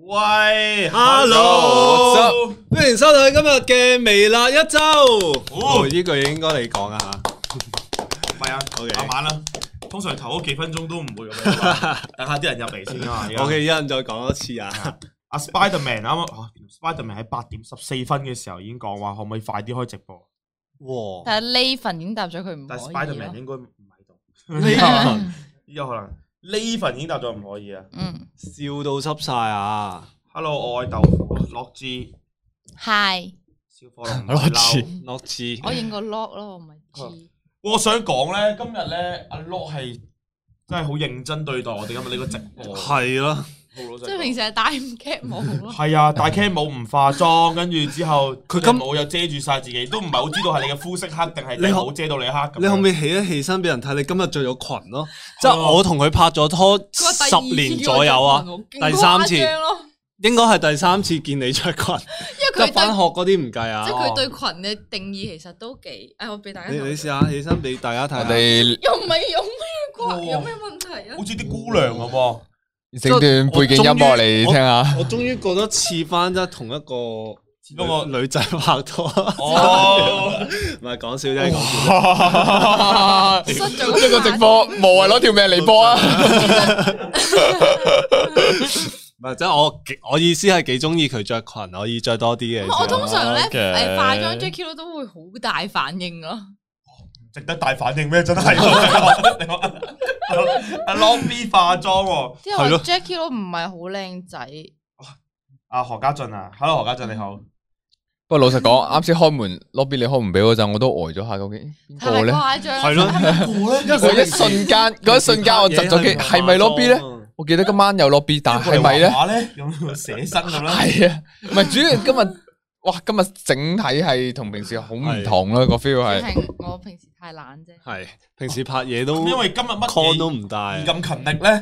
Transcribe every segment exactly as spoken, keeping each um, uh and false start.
喂 ，Hello，歡迎收睇今日嘅微辣一周。 哦， 呢句應該你講啊吓。 唔係啊 ，OK， 慢慢啦。通常頭嗰幾分鐘都唔會咁樣，等下啲人入嚟先啊。 OK，一陣再講多次啊。 阿 Spiderman 啱啱，Spiderman 喺八點十四分嘅時候已經講話，可唔可以快啲開直播？ 哇！ 但係呢份已經答咗佢唔可以。 但係 Spiderman 應該唔喺度。 呢份有可能呢份已經答咗唔可以啊。 嗯， 笑到濕晒啊 ！Hello，我愛豆腐樂之。 Hi， 小火龍樂之， 樂之。 我認個 lock 咯，我唔係 G。 我想講咧，今日咧阿 Lock 係真係好認真對待我哋今日呢個直播。 係咯。 即係平時係戴唔 cap 帽咯。 係啊，戴 cap 帽唔化妝，跟住之後佢個帽又遮住晒自己，都唔係好知道係你嘅膚色黑定係你冇遮到你黑咁。 你可唔可以起一起身俾人睇？你今日着咗裙咯，即係我同佢拍咗拖十年左右啊，第三次，應該係第三次見你着裙。因為佢翻學嗰啲唔計啊。 即係佢對裙嘅定義其實都幾……誒，我俾大家。 你你試下起身俾大家睇下。 又唔係有咩關？有咩問題啊？ 好似啲姑娘咁喎。 整段背景音樂嚟聽下。 我終於覺得似翻即係同一個嗰個女仔拍拖。 哦， 唔係講笑啫，講笑。 呢個直播無謂攞條命嚟播啊！ 唔係，即係我我意思係幾中意佢着裙，可以着多啲嘅。 我通常咧誒化妝 Jacky 都會好大反應咯。 值得大反應咩？真係阿 Long B 化妝喎， 係咯 ，Jacky 都唔係好靚仔。 阿何家俊啊 ，Hello 何家俊你好。 不過老實講，啱先開門 lobby 你開門俾我嗰陣，我都呆咗下，究竟邊個咧？ 係咯， 嗰一瞬間，嗰一瞬間我窒咗機，係咪 lobby 咧？我記得今晚有 lobby，但係咪咧？ 咁寫生咁啦。 係啊，唔係主要今日。哇！今日整體係同平時好唔同咯，個 feel 係。 我平時太懶啫。 係平時拍嘢都因為今日乜 con 都唔帶， 咁勤力咧。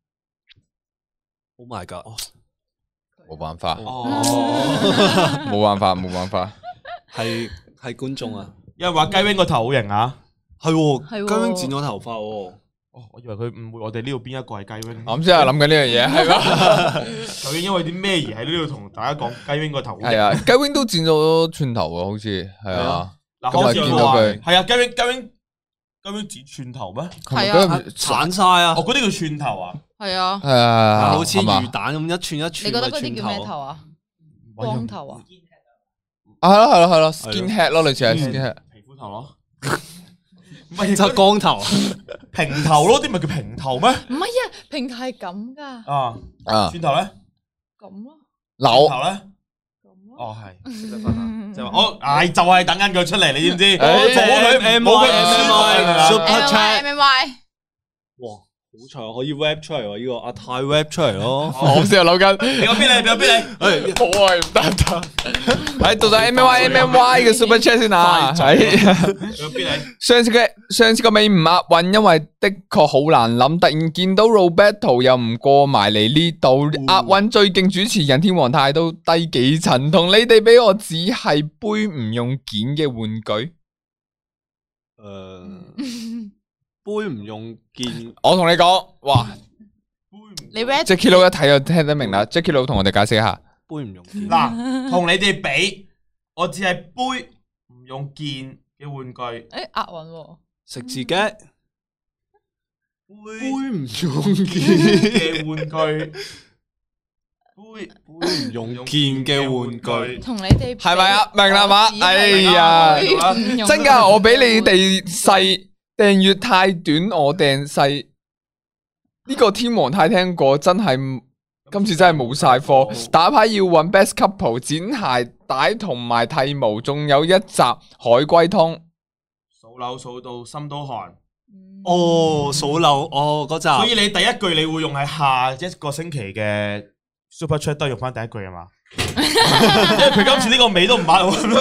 Oh my god！ 冇辦法， 哦， 冇辦法，冇辦法。 係係觀眾啊！ 有人話雞 wing 個頭好型啊， 係喎，雞 wing 剪咗頭髮喎。 哦，我以為佢誤會我哋呢度邊一個係雞 wing。 我啱先係諗緊呢樣嘢，係嘛？ 究竟因為啲咩而喺呢度同大家講雞 wing 個頭？ 係啊，雞 wing 都剪咗寸頭啊，好似係啊。 嗱，好似見到佢係啊，雞 wing 雞 wing 雞 wing 剪寸頭咩？ 係啊， 散晒啊！ 哦，嗰啲叫寸頭啊？ 係啊， 係啊， 好似魚蛋咁一寸一寸。 你覺得嗰啲叫咩頭啊？光頭啊？ 啊，係咯係咯係咯 ，skin head 咯，類似係 skin head。 皮膚頭咯。唔係就光頭， 平頭咯，啲咪叫平頭咩？ 唔係啊，平頭係咁噶。 啊啊， 轉頭咧？ 咁咯。 扭頭咧？咁咯。哦，係識得分啊，即係話我，唉，就係等緊佢出嚟，你知唔知？我阻佢，冇佢 M Y Super Chat M Y。 哇！好彩可以 rap 出嚟喎，呢個阿泰 rap 出嚟咯。 我先係諗緊， 你個邊嚟？你個邊嚟？ 誒，好啊，唔得得。喺到底 M Y M M Y 嘅 Super Chat 先啊。喺。 你個邊嚟？ 上次嘅上次個尾唔押韻，因為的確好難諗。突然見到 Roberto 又唔過埋嚟呢度，押韻最勁主持人天皇太都低幾層，同你哋俾我只係杯唔用件嘅玩具。 誒。杯唔用件， 我同你講，哇！ 你 Jacky Lou 一睇就聽得明啦。Jacky Lou 同我哋解釋一下， 杯唔用件。嗱，同你哋比，我只係杯唔用件嘅玩具。 誒，押韻喎， 食自己。杯杯唔用件嘅玩具。杯杯唔用件嘅玩具。 同你哋係咪啊？明啦嘛？哎呀，真噶，我比你哋細。訂閱太短，我訂細呢個天王太聽過，真係今次真係冇晒貨。打牌要揾 best couple 剪鞋帶同埋剃毛，仲有一集海龜湯。 數樓數到心都寒。 哦，數樓哦嗰集。 所以你第一句你會用喺下一個星期嘅 Super Chat 都用翻第一句啊嘛？因為佢今次呢個尾都唔買。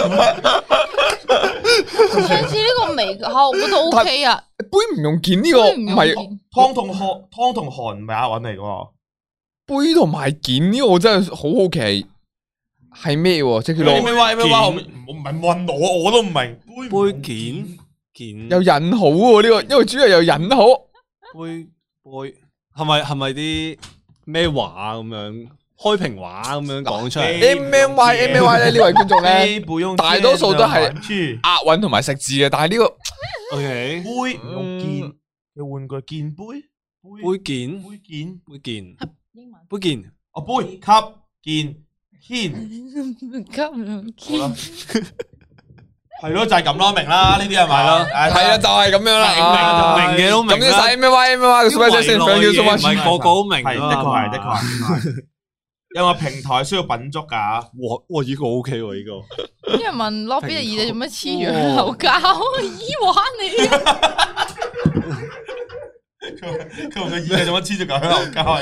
上次呢個味嚇，我覺得 O K 啊。 杯唔用件呢個唔係湯同寒，湯同寒唔係押韻嚟嘅。 杯同埋件呢個我真係好好奇係咩喎？即係佢攞咩話咩話？我唔係問我，我都唔明。 杯件件有引號喎呢個，因為主要有引號。 杯杯係咪係咪啲咩話咁樣？ 開屏話咁樣講出嚟。 M M Y M M Y 咧呢位觀眾咧， 咧大多數都係押韻同埋食字嘅，但係呢個 O K 杯用劍嘅玩具劍杯杯件杯件杯件英文杯件哦杯級劍軒級好啦，係咯就係咁咯，明啦呢啲係咪咯？ 係啊，就係咁樣啦， 明嘅都明啦。 咁要晒 M M Y M M Y 嘅 super chat 先 ，thank you so 唔 much。 係個個都明係的確係的確係。有個平台需要品足噶， 哇哇呢個 O K 喎呢個。 啲人問 lobby 嘅耳仔做乜黐住口膠？耳環嚟。 佢佢個耳仔做乜黐住嚿香口膠？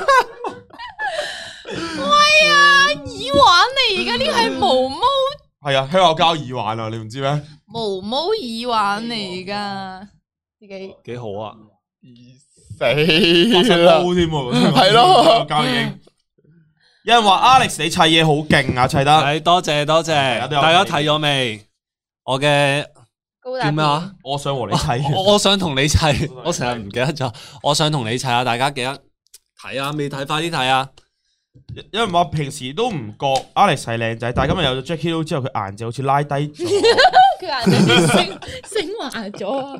喂啊，耳環嚟，而家呢個係毛毛。 係啊，香口膠耳環啊，你唔知咩？ 毛毛耳環嚟噶，自己幾好啊！ 死啦， 添喎， 係咯香口膠已經。有人話 Alex 你砌嘢好勁啊，砌得。 係多謝多謝，大家睇咗未？我嘅叫咩啊？ 我想和你砌。 我我想同你砌，我成日唔記得咗。我想同你砌啊！大家記得睇啊！未睇快啲睇啊！ 有人話平時都唔覺 Alex 係靚仔，但係今日有咗 Jacky Lou 之後，佢顏值好似拉低咗。 佢顏值升升華咗啊！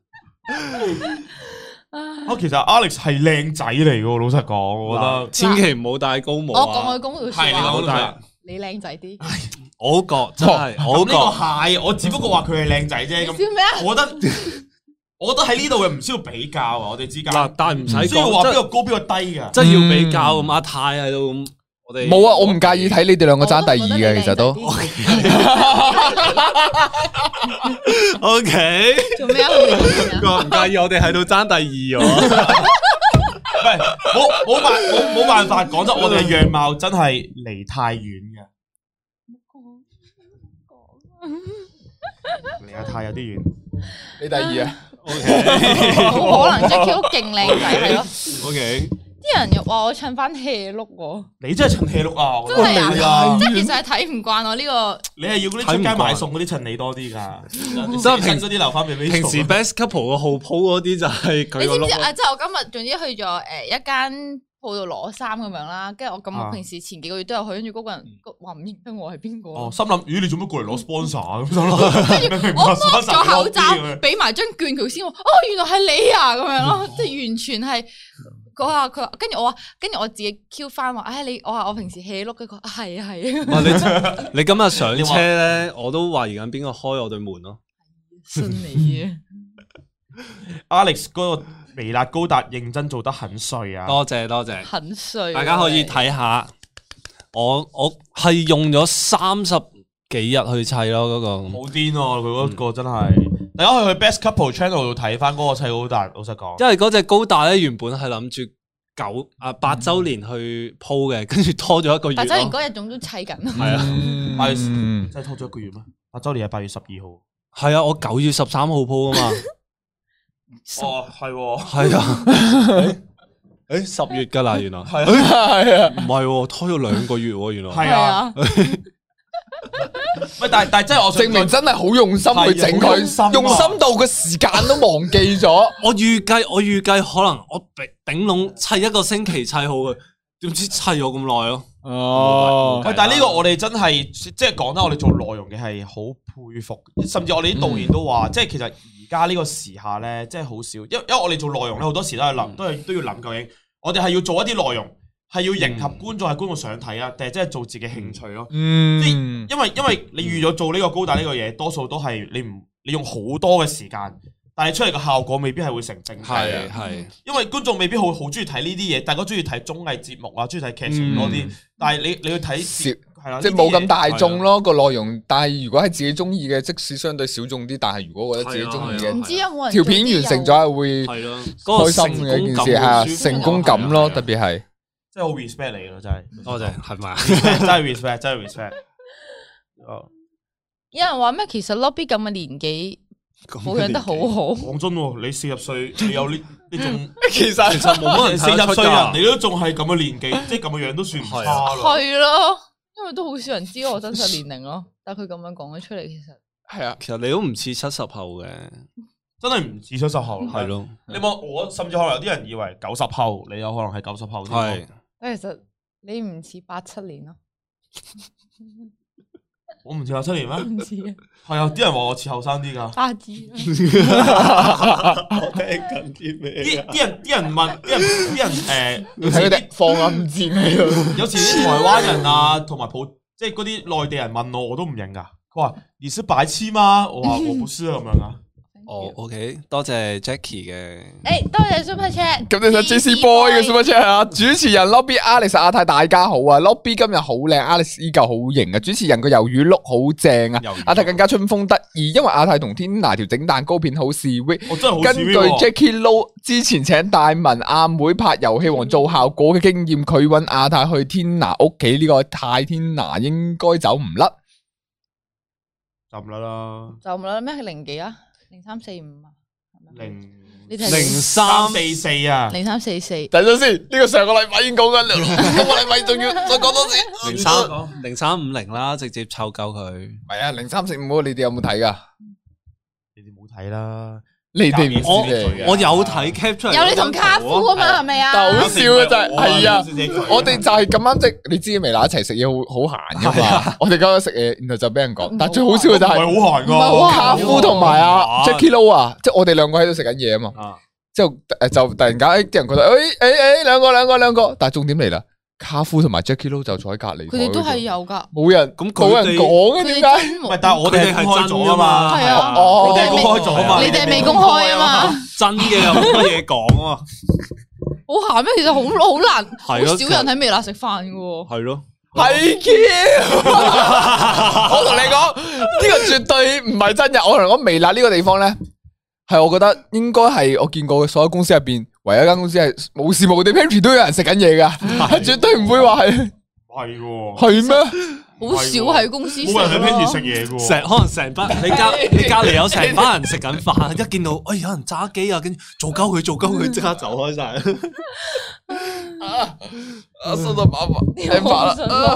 啊，其實 Alex 係靚仔嚟嘅，老實講，我覺得千祈唔好戴高帽啊！ 我講佢公道說係你講話，你靚仔啲。 我覺真係，我覺呢個係，我只不過話佢係靚仔啫。咁笑咩啊？ 我覺得，我覺得喺呢度嘅唔需要比較啊，我哋之間。 嗱，但係唔使需要話邊講， 個高邊個低㗎。 真係要比較咁。阿泰喺度咁，我哋冇啊，我唔介意睇你哋兩個爭第二嘅，其實都。 O K， 做咩啊？ 我唔介意，我哋喺度爭第二喎。 唔係，冇冇辦冇冇辦法講真，我哋嘅樣貌真係離太遠嘅，離得太有啲遠。 你第二啊 O K， 冇可能 Jacky 都勁靚仔係咯。 O K， 啲人又話我襯翻 hea look 喎， 你真係襯 hea look 啊！ 真係啊！即係你其實係睇唔慣我呢個。 你係要嗰啲出街買餸嗰啲襯你多啲㗎， 即係平嗰啲留翻俾平時 best couple 個號鋪嗰啲就係佢個你知唔 look 知啊？即係我今日總之去咗誒一間鋪度攞衫咁樣啦，跟住我咁我平時前幾個月都有去，跟住嗰個人話唔認得我係邊個。 哦，心諗咦你做乜過嚟攞 sponsor 咁樣？ 跟住我剝咗口罩，俾埋張券佢先，哦原來係你啊咁樣咯，即係完全係。嗰下佢話，跟住我話，跟住我自己 Q 翻話，唉你我話我平時 hea 碌嘅，佢話係啊係啊。 你你今日上車咧，我都懷疑緊邊個開我對門咯。 信你啊 ！Alex 嗰個微辣高達認真做得很碎啊！ 多謝多謝， 很碎。 大家可以睇下，我我係用咗三十幾日去砌咯，嗰個好癲喎！佢嗰個真係。大家可以去 Best Couple Channel 度睇翻嗰個砌高達，老實講。 因為嗰隻高達咧原本係諗住九啊八周年去鋪嘅，跟住拖咗一個月。 八周年嗰日仲都砌緊。 係啊， 八月真係拖咗一個月咩？八周年係八月十二號。 係啊，我九月十三號鋪啊嘛。 哦，係喎。 係啊。誒，十月噶啦，原來。 係啊，係啊。 唔係，拖咗兩個月喎，原來。 係啊。喂，但係但係真係我證明真係好用心去整佢，用心到個時間都忘記咗。 我預計我預計可能我頂籠砌一個星期砌好佢，點知砌咗咁耐咯。 哦， 喂，但係呢個我哋真係即係講得我哋做內容嘅係好佩服，甚至我哋啲導演都話，即係其實而家呢個時下咧，即係好少，因為因為我哋做內容咧，好多時都係諗，都係都要諗究竟我哋係要做一啲內容。係要迎合觀眾，係觀眾想睇啊，定係真係做自己興趣咯？ 嗯， 因為因為你預咗做呢個高達呢個嘢，多數都係你唔你用好多嘅時間，但係出嚟嘅效果未必係會成正比。 係係， 因為觀眾未必好好中意睇呢啲嘢，大家中意睇綜藝節目啊，中意睇劇情多啲。但係你你去睇係啦， 即係冇咁大眾咯個內容。但係如果係自己中意嘅，即使相對小眾啲，但係如果覺得自己中意嘅， 唔知有冇人條片完成咗係會開心嘅一件事係成功感咯，特別係。 真係好 respect 你咯，真係多謝，係咪？ 真係 respect，真係 respect。 有人話咩？其實 Lobby 咁嘅年紀保養得好好。 講真喎，你四十歲，你有呢呢種， 其實其實冇乜人四十歲人，你都仲係咁嘅年紀，即係咁嘅樣都算唔差咯。 係咯，因為都好少人知我真實年齡咯。但係佢咁樣講咗出嚟，其實係啊， 其實你都唔似七十後嘅。 真係唔似七十後， 係咯。 你望我，甚至可能有啲人以為九十後，你有可能係九十後。 係。 其實你唔似八七年咯， 我唔似八七年咩？ 唔似啊， 係啊，啲人話我似後生啲㗎。 八字。 我聽緊啲咩？ 啲啲人啲人問，啲人啲人誒， 睇佢哋放暗箭喺度。 有時啲台灣人啊，同埋普即係嗰啲內地人問我，我都唔認㗎。佢話你是白痴嗎？我話我不是咁樣啊。 哦，OK，多謝 Jackie 嘅。 誒，多謝 Super Chat。 咁你想 J C Boy 嘅 Super Chat 啊？主持人 Lobby Alex 阿泰大家好啊 ！Lobby 今日好靚 ，Alex 依舊好型啊！主持人個魷魚碌好正啊！阿泰更加春風得意，因為阿泰同天拿條整蛋糕片好 sweet。 我真係好根據 Jackie Lou 之前請大文阿妹拍遊戲王做效果嘅經驗，佢揾阿泰去天拿屋企呢個泰天拿應該走唔甩。 就唔甩啦。 就唔啦咩？零幾啊？零三四五啊？ 零你睇零三四四啊？ 零三四四。 等陣先，呢個上個禮拜已經講緊啦，今個禮拜仲要再講多次。 零三零三五零啦，直接湊夠佢。 唔係啊，零三四五你哋有冇睇噶？ 你哋冇睇啦。 你哋唔我知嚟嘅。 我有睇 cap 出嚟， 有你同卡夫啊嘛，係咪啊？ 好笑嘅就係係啊，我我哋就係咁啱即你知微辣一齊食嘢好好閒噶嘛，我哋嗰日食嘢，然後就俾人講，但係最好笑嘅就係係好閒唔係好噶。 閒卡夫同埋阿 Jackie Lou 啊，即係我哋兩個喺度食緊嘢啊嘛， 啊， 之後誒就突然間誒啲人覺得誒誒誒兩個兩個兩個，但係重點嚟啦，卡夫同埋 Jackie Lou 就坐喺隔離， 佢哋都係有噶。 冇人咁佢哋冇人講嘅點解？ 唔係，但係我哋係公開咗啊嘛。 係啊哦我哋係公開咗啊嘛。 你哋未公開啊嘛？ 真嘅有好多嘢講啊， 好閒咩？其實好好難，好係咯少人喺微辣食飯嘅喎。 係咯。 係嘅，我同你講呢個絕對唔係真嘅。我同你講微辣呢個地方咧，係我覺得應該係我見過嘅所有公司入邊，唯一一間公司係無時無地 pantry 都有人食緊嘢噶，係絕對唔會話係係喎。 係咩？ 好少喺公司食冇人喺 Pantry 食咯。 嘢嘅喎。 成可能成班你隔你隔籬有成班人食緊飯，一見到哎有人揸機啊，跟住做鳩佢做鳩佢，即刻走開晒。 啊！啊，收到麻煩，聽煩啦。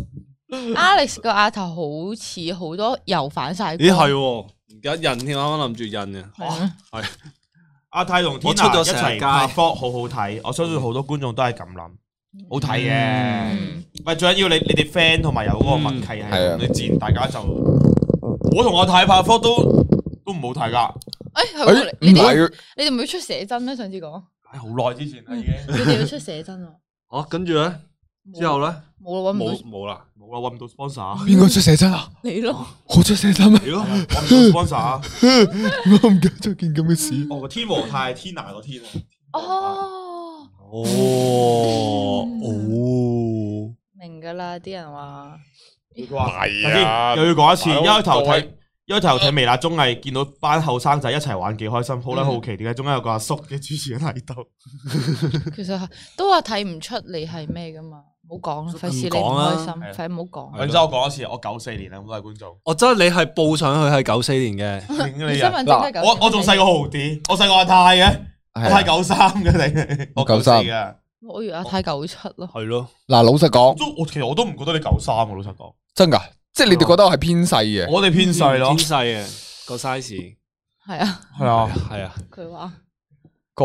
Alex 個額頭好似好多油反晒光。 咦係喎，而家印添，啱啱諗住印嘅。 係咩係阿泰同天我出娜一咗成街齊拍 vlog 好好睇，我相信好多觀眾都係咁諗，好睇嘅。 嗯唔係最緊要你你哋 friend 同埋有嗰個默契係係啊咁，你自然大家就我同阿泰拍 vlog 都都唔好睇噶。 誒係喎誒， 你哋唔係你哋唔會出寫真咩？上次講唉，好耐之前啦已經， 你哋要出寫真啊？ 哦，跟住咧之後咧冇啦，搵唔冇到冇啦， 冇啦，搵唔到 sponsor， 邊個出寫真啊？ 你咯。 我出寫真咩？ 係咯， 搵唔到 sponsor。 我唔記得咗件咁嘅事。 哦，個天和泰係天娜個天啊。 哦， 哦哦， 明噶啦，啲人話佢話係啊又要講一次， 大佬一開頭各位睇。一開頭睇微辣綜藝，見到班後生仔一齊玩幾開心，好啦好奇點解中間有個阿叔嘅主持人喺度？ 其實係都話睇唔出你係咩噶嘛，唔好講啦，費事你唔開心，費唔好講。 然之後我講一次，我九四年啊，咁多位觀眾。 我真係你係報上去係九四年嘅， 你身份證都係九四我我仲細過豪啲，我細過阿泰嘅，我係九三嘅你，我九四嘅。 我以為阿泰九七咯。 係咯。 嗱，老實講， 都我其實我都唔覺得你九三嘅，老實講。 真噶，即係你哋覺得我係偏細嘅。 我哋偏細咯偏，細嘅個 size。 係啊， 係啊， 係啊。 佢話個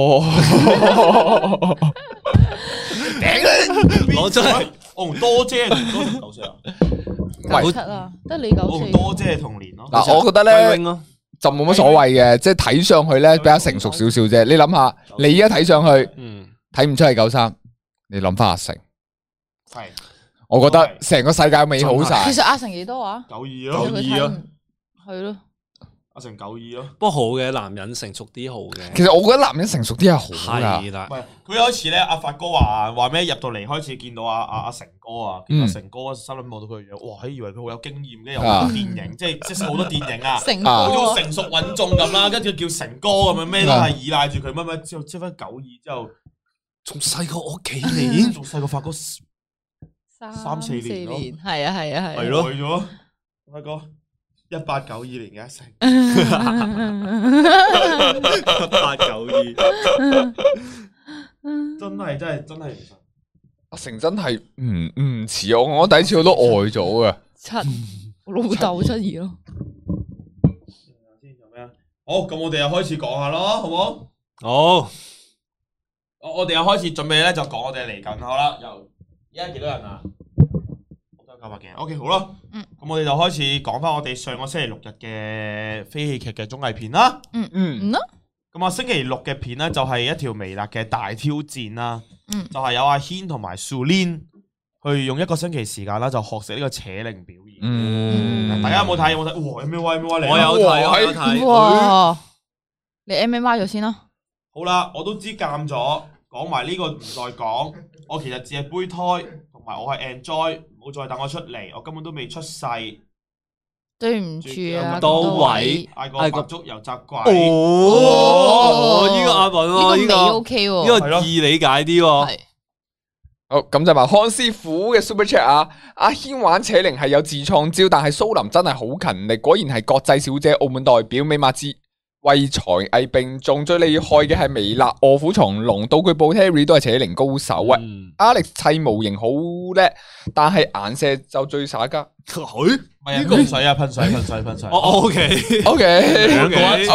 攞出嚟。 我同多姐同多姐九歲啊， 九七啊，得你九我同四。 多姐係同年咯。 嗱，我覺得咧 Wing Wing 咯就冇乜所謂嘅，即係睇上去咧比較成熟少少啫。你諗下，你而家睇上去嗯， 睇唔出係九三，你諗翻阿成， 係我覺得成個世界美好晒其。實阿成幾多啊？ 九二佢咯， 睇唔係咯， 阿成九二咯。 不過好嘅，男人成熟啲好嘅。 其實我覺得男人成熟啲係好噶係。啦唔，係，佢有一次咧，阿發哥話話咩入到嚟開始見到阿阿阿成哥啊，見到成哥心諗望到佢嘅樣，哇！以為佢好有經驗，跟住有好多電影，即係即係好多電影啊， 成啊哥好似成熟穩重咁啦，跟住叫成哥咁樣，咩都係依賴住佢乜乜，之後即翻九二之後， 仲細過我幾年。 仲細過發哥三四年咯係啊係啊係。 係咯耐咗，發哥一八九二年嘅阿成， 八九二。 真係真係真係唔信。 阿成真係唔唔似我，我第一次我都呆咗噶。 七，我老豆七二咯。 先做咩啊？好，咁我哋又開始講下咯，好唔好？ 好， 我我哋又開始準備咧，就講我哋嚟緊好啦，由而家幾多人啊？九百幾。OK， 好啦。 嗯。 咁我哋就開始講翻我哋上個星期六日嘅非戲劇嘅綜藝片啦。 嗯嗯。 咁啊，星期六嘅片咧就係一條微辣嘅大挑戰啦。 嗯。 就係有阿軒同埋 Sulin 去用一個星期時間啦，就學識呢個扯鈴表演。 嗯。 大家有冇睇？有冇睇？哇 ！M M Y M M Y 嚟。 我有睇，我有睇。 哇！你 M M Y 咗先啦。 好啦，我都知監咗，講埋呢個唔再講。我其實只係胚胎，同埋我係 enjoy，唔好再等我出嚟，我根本都未出世。 對唔住啊， 多位嗌個白粥油炸鬼。 哦，呢個押韻喎，呢個 OK 喎， 呢個易理解啲喎。 係。 好，咁就話康師傅嘅 Super Chat 啊，阿軒玩扯鈴係有自創招，但係蘇林真係好勤力，果然係國際小姐澳門代表，美馬之為才藝並重，最厲害嘅係微辣卧虎藏龍，道具部 Terry 都係扯鈴高手啊。 嗯、 Alex 砌模型好叻，但係顏射就最耍家。 佢唔係噴水啊，噴水噴水噴水。 哦 OK OK OK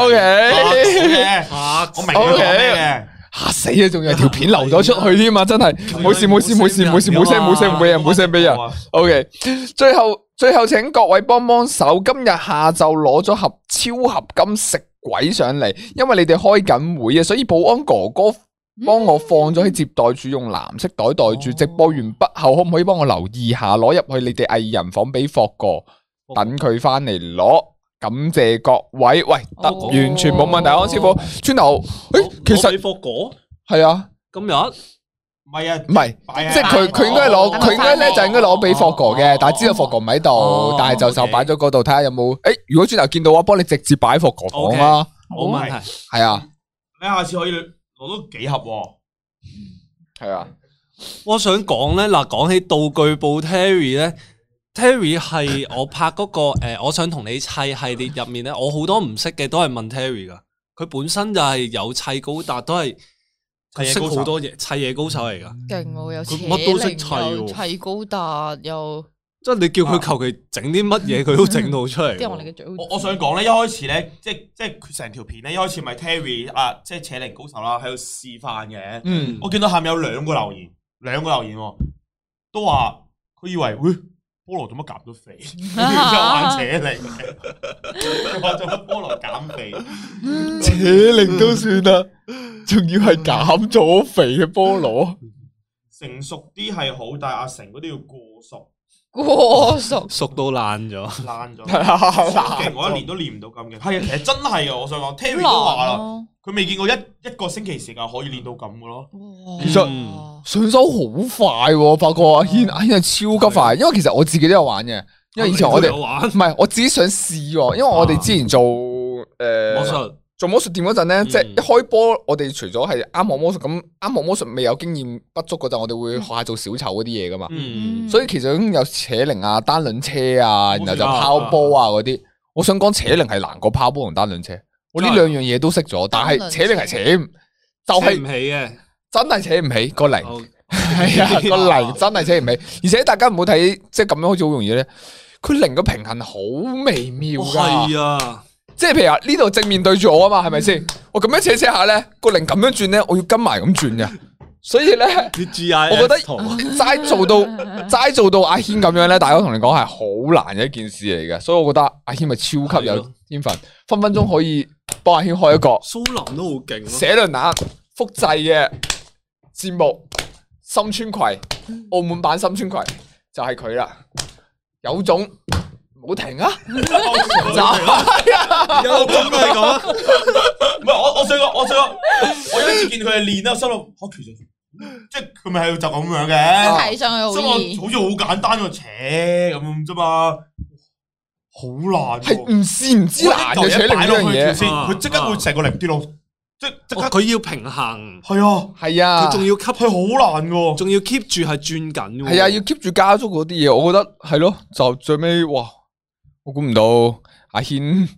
OK， 我明佢講咩嘅。 嚇死啊！仲有條片流咗出去添啊！真係冇事冇事冇事冇事冇聲冇聲俾人冇聲俾人。OK， 最後最後請各位幫幫手，今日下晝攞咗盒超合金食鬼上嚟，因為你哋開緊會啊，所以保安哥哥幫我放咗喺接待處，用藍色袋袋住。直播完畢後，可唔可以幫我留意下，攞入去你哋藝人房俾霍哥，等佢翻嚟攞。感謝各位，喂，得、哦、完全冇問題，安師傅。村頭，誒、欸，其實霍哥係啊， 今日唔係啊， 唔係，即係佢佢應該攞，佢應該咧就應該攞俾霍哥嘅，但係知道霍哥唔喺度，哦、但係就就擺咗嗰度睇下有冇。誒、欸，如果村頭見到我幫你直接擺霍哥房啦， 冇問題。 係啊， 你下次可以攞多幾盒喎。 係啊， 我想講咧，嗱，講起道具部 Terry 咧。Terry 係我拍嗰、那個誒、呃，我想同你砌系列入面咧，我好多唔識嘅都係問 Terry 噶，佢本身就係有砌高達，都係佢識好多嘢，砌嘢高手嚟噶。勁喎，有乜都識砌，砌高達又， 即係你叫佢求其整啲乜嘢，佢都整到出嚟。 我我想講咧，一開始咧，即係即係佢成條片咧，一開始咪 Terry 啊，即係扯鈴高手啦，喺度示範嘅。嗯，我見到下面有兩個留言，兩個留言都話佢以為會。菠蘿做乜減咗肥？又玩扯鈴，話做乜菠蘿減肥？ 扯鈴都算啦，仲要係減咗肥嘅菠蘿。 成熟啲係好，但係阿成嗰啲要過熟， 過熟熟到爛咗， 爛咗。勁我一年都練唔到咁嘅。係啊，其實真係噶，我想講 Terry 都話啦，佢未見過一一個星期時間可以練到咁嘅咯。 其實上手好快，發覺阿軒阿軒係超級快，因為其實我自己都有玩嘅，因為以前我哋唔係我自己想試，因為我哋之前做誒魔術做魔術店嗰陣咧，即係一開波，我哋除咗係啱學魔術咁，啱學魔術未有經驗不足嗰陣，我哋會學下做小丑嗰啲嘢噶嘛，所以其實已經有扯鈴啊、單輪車啊，然後就拋波啊嗰啲。我想講扯鈴係難過拋波同單輪車，我呢兩樣嘢都識咗，但係扯鈴係扯就係唔起嘅。 真係扯唔起個鈴，係啊個鈴真係扯唔起，而且大家唔好睇，即係咁樣好似好容易咧。佢鈴個平衡好微妙噶， 係啊， 即係譬如話呢度正面對住我啊嘛，係咪先？我咁樣扯扯下咧，個鈴咁樣轉咧，我要跟埋咁轉嘅，所以咧，我覺得齋做到齋做到阿軒咁樣咧，大家同你講係好難嘅一件事嚟嘅，所以我覺得阿軒咪超級有天分，分分鐘可以幫阿軒開一個蘇林都好勁， 寫輪眼複製嘅。節目深川葵，澳門版深川葵就係佢啦，有種唔好停啊！就係啊， 有種都係咁， 唔係我我想講，我想講，我有一次見佢哋練啦，心諗吓其實即係佢咪喺度就咁樣嘅， 睇上去好易， 好似好簡單個扯咁啫嘛，好難， 係唔試唔知難嘅扯鈴呢樣嘢先，佢即刻會成個零跌落。即即刻佢要平衡， 係啊係啊， 佢仲要吸， 係好難嘅， 仲要 keep 住係轉緊嘅， 係啊，要 keep 住加速嗰啲嘢，我覺得係咯，就最尾哇，我估唔到阿軒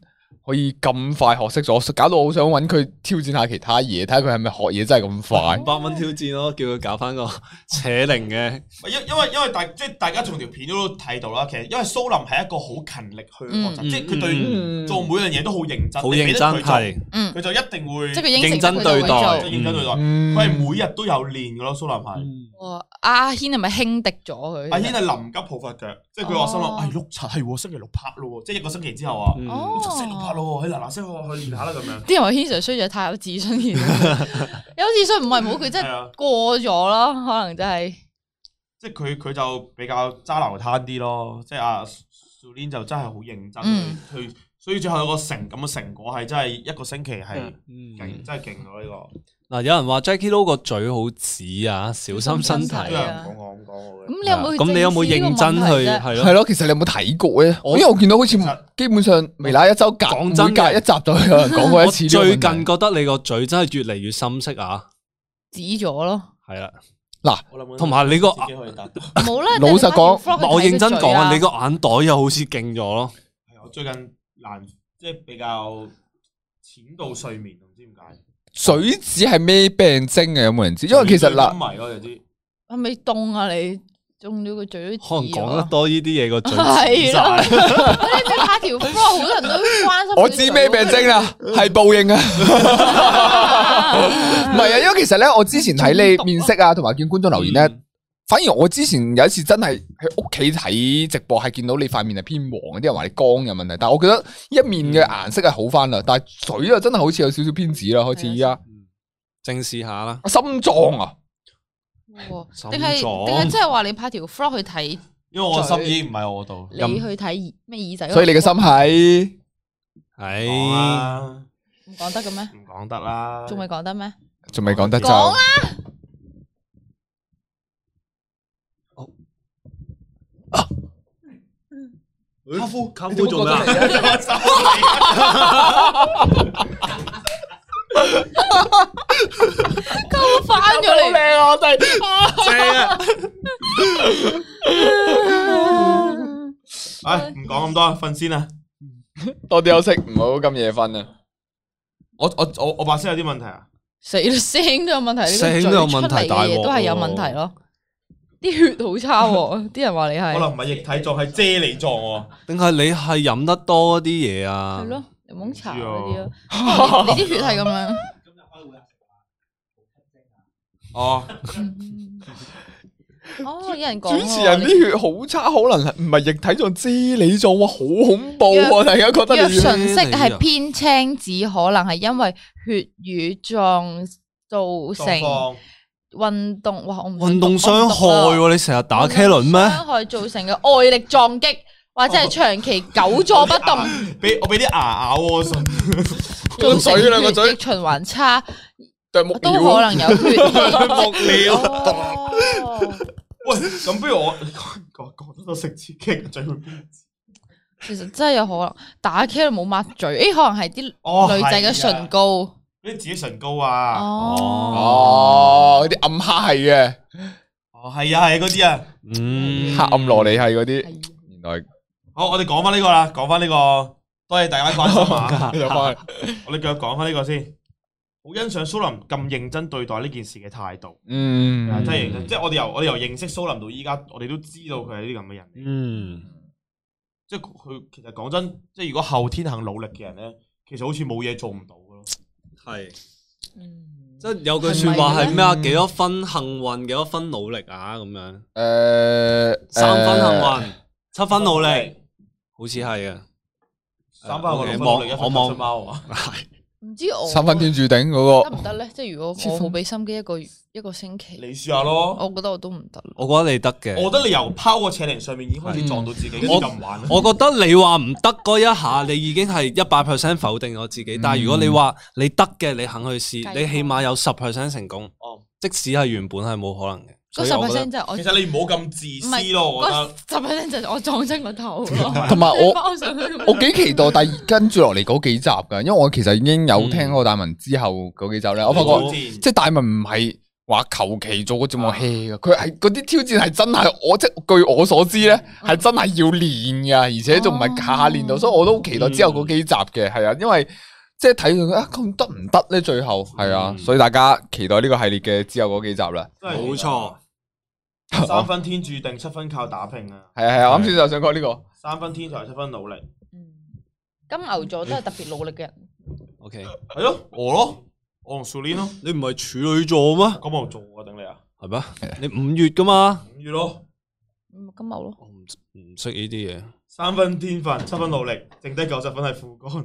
可以咁快學識咗，搞到我好想揾佢挑戰下其他嘢，睇下佢係咪學嘢真係咁快。 五百蚊挑戰咯，叫佢搞翻個扯鈴嘅。 因因為因為大即係大家從條片都睇到啦，其實因為蘇林係一個好勤力去學習， 嗯即係佢對做每樣嘢都好認真， 好認真係， 佢就一定會即係佢應承認真對待， 認真對待。 嗯佢係每日都有練噶咯，蘇林係。 哇！阿軒係咪輕敵咗佢？ 阿軒係臨急抱佛腳，即係佢話心諗， 哦唉碌柒係喎，星期六拍咯喎，即係一個星期之後啊， 嗯哦六七星期六拍咯喎，佢嗱嗱聲去練下啦咁樣。 啲人話軒 Sir 衰咗太有自信，有自信唔係冇，佢真係過咗咯，可能真係。 即係佢佢就比較揸流灘啲咯，即係阿 Sulin 就真係好認真嗯去去，所以最後有個成咁嘅成果係真係一個星期係嗯勁，真係勁咯呢個。 嗱，有人話 Jackie Lou 個嘴好紫啊，小心身體。 係啊講講講我嘅。 咁你有冇去咁你有冇認真去係係咯？ 咯，其實你有冇睇過咧？因為我見到好似基本上微辣一周隔講真嘅每隔一集就有人講過一次呢個問題。 我最近覺得你個嘴真係越嚟越深色啊！ 指咗咯， 係啦， 嗱同埋你個自己可以答到。 冇啦。 老實講我認真講啊，你個個眼袋又好似勁咗咯。 係我最近難即係比較淺度睡眠，唔知點解。 水子係咩病徵嘅？有冇人知？因為其實嗱， 迷咯，有啲係咪凍啊？你中咗個嘴都可能紫咗講得多呢啲嘢個嘴係紫咯晒。 你你拍條 floor，好多人都關心。 我知咩病徵啦，係報應啊！唔係啊，因為其實咧，我之前睇你面色啊，同埋見觀眾留言咧，反而我之前有一次真係喺屋企睇直播，係見到你塊面係偏黃，啲人話你光有問題，但係我覺得一面嘅顏色係好翻啦，但係嘴啊真係好似有少少偏紫啦，開始依家正視下啦， 心臟啊， 定係定係即係話你拍條 floor 去睇， 因為我心已經唔喺我度。 你去睇咩耳仔？ 所以你嘅心係係唔講得嘅咩？ 唔講得啦， 仲未講得咩？ 仲未講得就講啦。 卡夫卡夫做咩啊？ 溝翻咗嚟， 靚啊！我哋正啊！ 唉，唔講咁多，瞓先啦。 多啲休息，唔好咁夜瞓啊！ 我我我我把聲有啲問題啊！ 死啦，聲都有問題，呢個聲都有問題嘴出嚟嘅大鑊喎嘢都係有問題咯。啲血好差喎，啲人話你係可能唔係液體狀，係啫喱狀喎。 定係你係飲得多啲嘢啊？ 係咯，檸檬茶嗰啲唔咯。你啲血係咁樣。 哦， 哦，有人講主持人啲血好差，可能係唔係液體狀啫喱狀，哇，好恐怖啊！大家覺得若你唇色係偏青紫，可能係因為血瘀狀造成運動，哇！我唔運動傷害喎，你成日打茄輪咩？ 傷害造成嘅外力撞擊，或者係長期久坐不動， 俾我俾啲牙咬我信。 造成嘴兩個嘴血液循環差， 對木都可能有血。 木料哦喂，咁不如我講講得多食刺激嘅嘴會變。 其實真係有可能打茄輪冇抹嘴，誒，可能係啲哦女仔嘅唇膏。 嗰啲自己唇膏啊。 哦， 哦，嗰啲暗黑系嘅哦，係啊係嗰啲啊。 嗯， 黑暗蘿莉系嗰啲，原來好，我哋講翻呢個啦，講翻呢個，多謝大家關心啊。 又翻我哋繼續講翻呢個先。好欣賞蘇林咁認真對待呢件事嘅態度， 嗯， 真係認真。即係我哋由我哋由認識蘇林到依家，我哋都知道佢係啲咁嘅人。 嗯， 即係佢其實講真，即係如果後天肯努力嘅人咧，其實好似冇嘢做唔到嘅咯。 係， 嗯即係有句說話係咩啊？幾多分幸運，幾多分努力啊？咁樣， 誒三分幸運，七分努力，好似係啊。 三分我六分望努力，一分我望出貓啊！ 唔知我三分天注定嗰個， 得唔得咧？即係如果我好俾心機一個月一個星期， 你試下咯。 我覺得我都唔得。 我覺得你得嘅。 我覺得你由拋個扯鈴上面已經開始撞到自己，跟住我就唔玩啦。 我覺得你話唔得嗰一下，你已經係一百 percent 否定我自己。但係如果你話你得嘅，你肯去試， 計你起碼有十 percent 成功。 哦， 即使係原本係冇可能嘅。 嗰十 percent 就係我其實你唔好咁自私咯，我覺得。 十 percent 就係我撞親個頭咯。 同埋我包上去咁我幾期待第二跟住落嚟嗰幾集噶，因為我其實已經有聽過大文之後嗰幾集咧，我發覺嗯即係大文唔係話求其做個節目 hea 噶，佢係嗰啲挑戰係真係我即係據我所知咧，係真係要練噶，而且仲唔係下下練到，所以我都好期待之後嗰幾集嘅，係啊，因為即係睇到啊咁得唔得咧？最後係啊，所以大家期待呢個系列嘅之後嗰幾集啦。 冇錯， 三分天注定，七分靠打拼啊！ 係啊係啊，啱先就想講呢個三分天才，七分努力。 金牛座都係特別努力嘅人。 O K， 係咯，我咯，我同 Sulin 咯。 你唔係處女座咩？ 金牛座我頂你啊！ 係咩？你五月噶嘛？ 五月咯， 金牛咯。 我唔唔識呢啲嘢。 三分天分，七分努力，剩低九十分係副幹。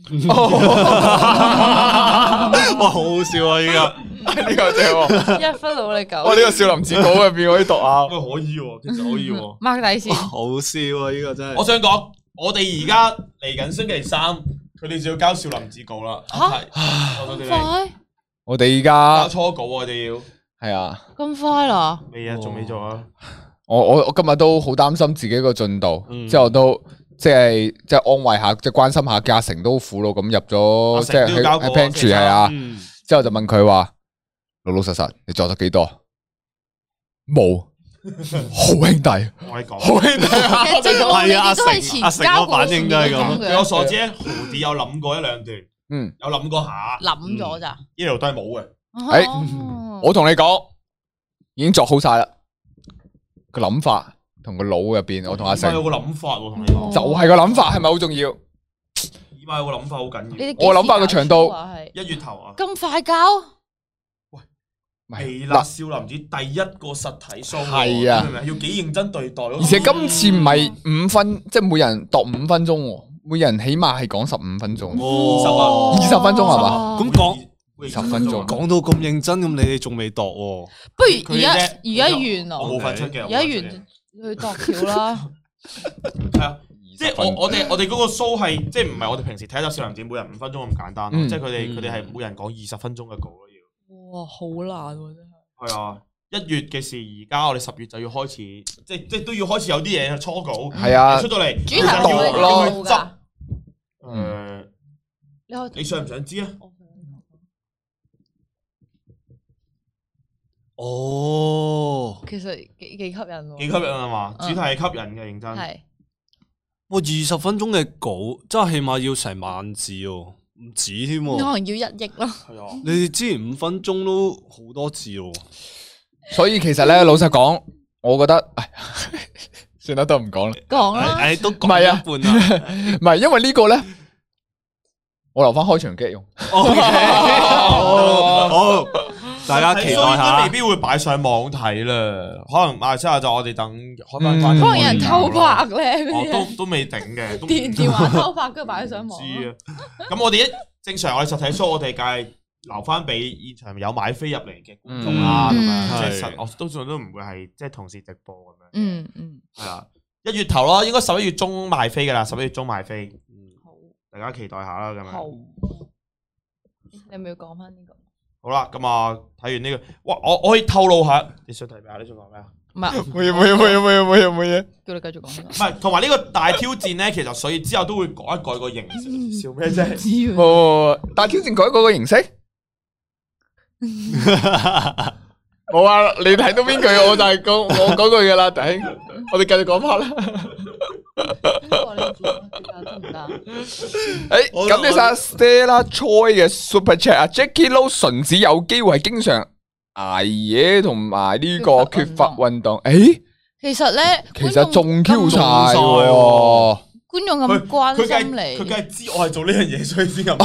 哇，好好笑啊！依家呢個正喎， 一分努力九。 我呢個少林寺稿入邊可以讀啊， 可以喎，其實可以喎。 mark 底線。 好笑啊！呢個真係。 我想講，我哋而家嚟緊星期三，佢哋就要交少林寺稿啦。 嚇咁快？ 我哋而家交初稿，我哋要係啊， 咁快啦？ 未啊，仲未做啊。 我我我今日都好擔心自己個進度， 嗯之後都即係即係安慰下，即係關心下嘉誠都苦惱咁入咗，即係喺喺 pantry 係啊， 嗯之後就問佢話老老實實你作咗幾多？冇，好兄弟， 我係講， 好兄弟啊！ 其實即係我係啊， 哋都係前阿成阿成個反應都係咁據我所知咧，豪啲有諗過一兩段， 嗯， 有諗過下， 諗咗咋？ 呢度都係冇嘅。 誒哦我同你講，已經作好晒啦，個諗法同個腦入邊，我同阿成有個諗法喎，同你講， 就係個諗法，係咪好重要？ 起碼有個諗法好緊要。 你哋我諗法個長度係一月頭啊， 咁快交？ 微辣少林寺第一個實體 show， 係啊你明唔明？要幾認真對待咯。 而且今次唔係五分，即係每人度五分鐘喎，每人起碼係講十五分鐘， 哦， 二十分鐘係嘛？ 咁講二十分鐘講到咁認真，咁你哋仲未度喎？ 不如而家佢啫而家完咯， 我冇份出嘅， 而家完去度橋啦。 係啊。即係我我哋我哋嗰個 show 係即係唔係我哋平時睇集少林寺每人五分鐘咁簡單咯， 嗯即係佢哋佢哋係每人講二十分鐘嘅稿咯要。 哇，好難喎真係。 係啊，一月嘅事，而家我哋十月就要開始，即係即係都要開始有啲嘢初稿， 係啊出到嚟， 主題係咪要咯要去執。 嗯誒， 你可以你想唔想知啊？ 哦， 其實幾幾吸引喎。 幾吸引啊嘛， 嗯主題係吸引嘅，認真。 係哇！二十分鐘嘅稿，真係起碼要成萬字哦，唔止添喎。 可能要一億咯。 係啊， 你哋之前五分鐘都好多字喎。 所以其實咧，老實講，我覺得，唉算啦，都唔講啦。 講啦， 誒，都唔係啊講一半啦。 唔係因為呢個咧，我留翻開場機用。 OK，好，大家期待睇 show 應該下未。必會擺上網睇啦，可能馬來西亞就我哋等開翻關。 嗯可能有人偷拍咧，嗰哦， 啲都都未定嘅，都唔電電話偷拍，跟住擺上網。 知啊。咁我哋一正常我哋實體 show，我哋梗係留翻俾現場有買飛入嚟嘅觀眾啦，咁嗯樣即係係實我多數都唔會係即係同時直播咁樣。 嗯嗯， 係啊，一月頭咯，應該十一月中賣飛噶啦，十一月中賣飛， 好， 大家期待下啦，咁好樣。。 你係咪要講翻呢個？ 好啦，咁啊睇完呢個，哇！我我可以透露下，你想睇咩啊？你想講咩啊？ 唔係， 冇嘢冇嘢冇嘢冇嘢冇嘢冇嘢。 叫你繼續講呢唔係，同埋呢個大挑戰咧，其實所以之後都會改一改個形式。笑咩啫？ 個。知喎。 冇，但係挑戰改嗰個形式。冇啊！你睇到邊句我就係講我嗰句噶啦，頂！我哋繼續講翻啦。 得唔得？ 誒，感謝晒 Stella Choi 嘅 Super Chat 啊 ，Jackie Lou 純子有機會係經常捱夜同埋呢個缺乏運動。誒， 其實咧， 其實仲 Q 晒中晒喎喎。 觀眾咁關佢梗心係佢梗你， 係知我係做呢樣嘢，所以先咁。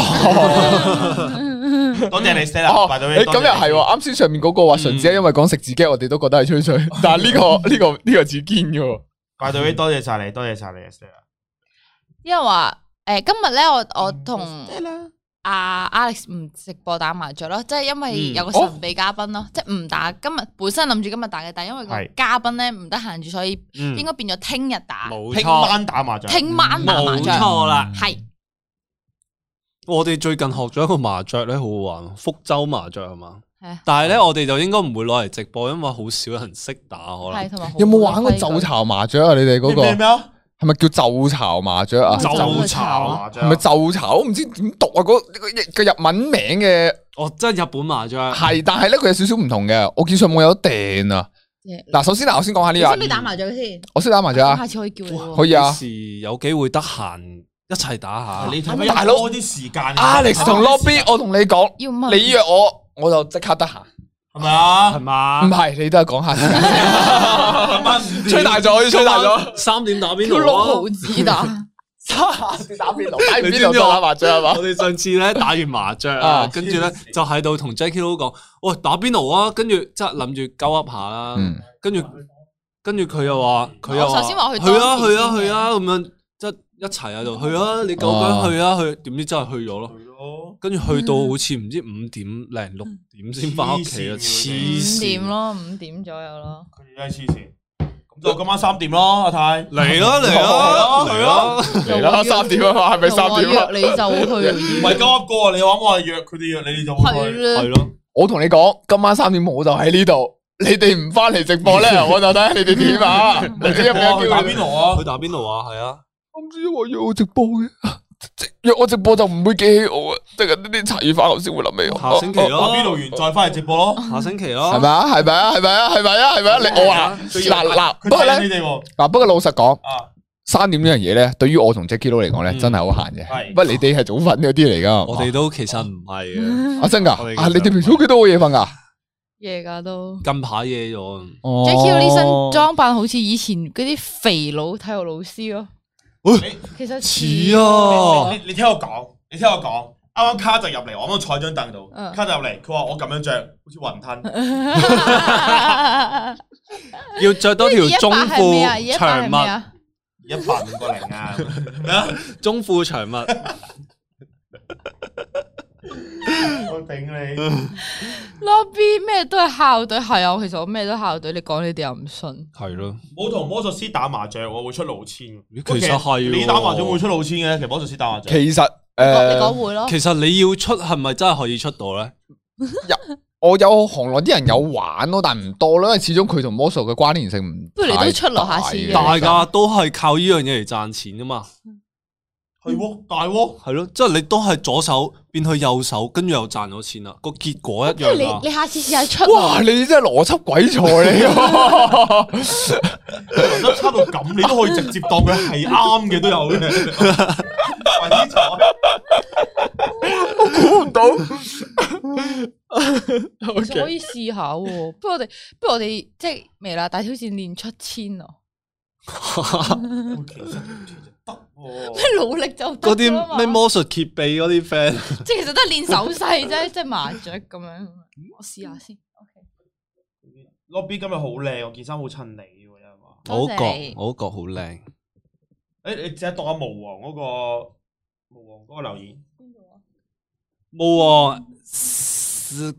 多謝你 Stella， 哦， 拜到誒咁又係喎，啱先上面嗰個話純子係因為講食自己，我哋都覺得係吹水，但係呢個呢個呢個似堅嘅喎。 拜到你，多謝晒你，多謝晒你 Stella。 因為話誒今日咧，我我同阿 Alex 唔直播打麻雀咯，即係因為有個神秘嘉賓咯，即係唔打。今日本身諗住今日打嘅，但係因為個嘉賓咧唔得閒住，所以應該變咗聽日打。 聽冇錯， 晚打麻雀， 聽晚打麻冇雀， 錯啦。 係我哋最近學咗一個麻雀咧，好好玩，福州麻雀係嘛？ 係啊， 但係咧，我哋就應該唔會攞嚟直播，因為好少人識打，可能。 係同埋有冇玩過就巢麻雀啊？你哋嗰個咩咩啊？ 係咪叫就巢麻雀啊？ 就就炒麻雀， 係咪就巢？我唔知點讀啊！嗰個個日文名嘅哦，即係日本麻雀。 係，但係咧佢有少少唔同嘅。我見上網有得訂啊。嗱，首先嗱，我先講下呢個。 你識唔識打麻雀先？ 我識打麻雀啊。 下次可以叫你。 可以啊。 時有機會得閒一齊打下。 你睇大佬啲時間。 Alex 同 Lobby，我同你講，你約我，我就即刻得閒。 係咪啊？ 係嘛？ 唔係，你都係講下先。吹大咗，吹大咗。 三點打邊爐啊？ 六毫子打。 三點打邊爐，打邊爐打麻雀係嘛？ 我哋上次咧打完麻雀啊，跟住咧就喺度同 Jacky Lou 講，喂，打邊爐啊！跟住即係諗住鳩噏下啦，跟住跟住佢又話，佢又話， 首先話去去啊去啊去啊咁樣，即係一齊喺度去啊！你夠薑去啊去，點知真係去咗咯？跟住去到好似唔知五點零六點先翻屋企啊！黐線， 五點咯，五點左右咯。 佢哋真係黐線。咁就今晚三點咯，阿泰嚟咯嚟咯嚟咯嚟啦！三點啊嘛，係咪三點啊？ 約你就去。 唔係鳩噏過啊！你話我係約佢哋約你哋就去。 係咯。 我同你講，今晚三點我就喺呢度。你哋唔翻嚟直播咧，我就睇下你哋點啊！你知有冇去打邊爐啊？ 去打邊爐啊？係啊。 我唔知話約我直播嘅。約我直播就唔會記起我啊，即係呢啲茶餘飯後先會諗起我。 下星期咯， 打邊爐完再翻嚟直播咯。 下星期咯， 係咪啊？係咪啊？係咪啊？係咪啊？係咪啊？你我話嗱嗱，不過咧嗱，不過老實講，三點呢樣嘢咧，對於我同 Jacky Lou 嚟講咧，真係好閒嘅。不過你哋係早瞓嗰啲嚟噶， 我哋都其實唔係嘅。 啊真噶？啊你哋平時屋企都好夜瞓噶？ 夜噶都。 近排夜咗。 Jacky Lou 呢身裝扮好似以前嗰啲肥佬體育老師咯。其實似啊！ 你你聽我講，你聽我講，啱啱卡就入嚟，我啱啱坐喺張凳度，卡就入嚟，佢話我咁樣着，好似雲吞， 要着多條中褲長襪， 一百五個零啊！咩啊？ 中褲長襪， 我頂你 ！Lobby 咩都係校隊，係啊，其實我咩都校隊，你講你哋又唔信， 係咯。 冇同魔術師打麻雀，我會出老千。 其實係你打麻雀會出老千嘅，其實魔術師打麻雀。 其實誒， 你講會咯。 其實你要出係咪真係可以出到咧？ 有我有行內啲人有玩咯，但唔多咯，因為始終佢同魔術嘅關聯性唔不如你都出落下次嘅。 大家都係靠呢樣嘢嚟賺錢噶嘛。 係喎，大喎， 係咯，即係你都係左手變去右手，跟住又賺咗錢啦，個結果一樣。 你你下次試下出。 哇！你真係邏輯鬼才嚟㗎， 邏輯差到咁，你都可以直接當佢係啱嘅都有嘅。鬼才， 我估唔到。 其實可以試下喎，不過我哋不如我哋即係未啦，大挑戰練出千啊！咩努力就嗰啲咩魔術揭秘嗰啲 friend， 即係其實都係練手勢啫，即係麻雀咁樣。我試下先。 Lobby 今日好靚，我件衫好襯你喎，因為我覺我覺好靚。 誒，你只係讀下毛王嗰個毛王嗰個留言。邊度啊？ 毛王是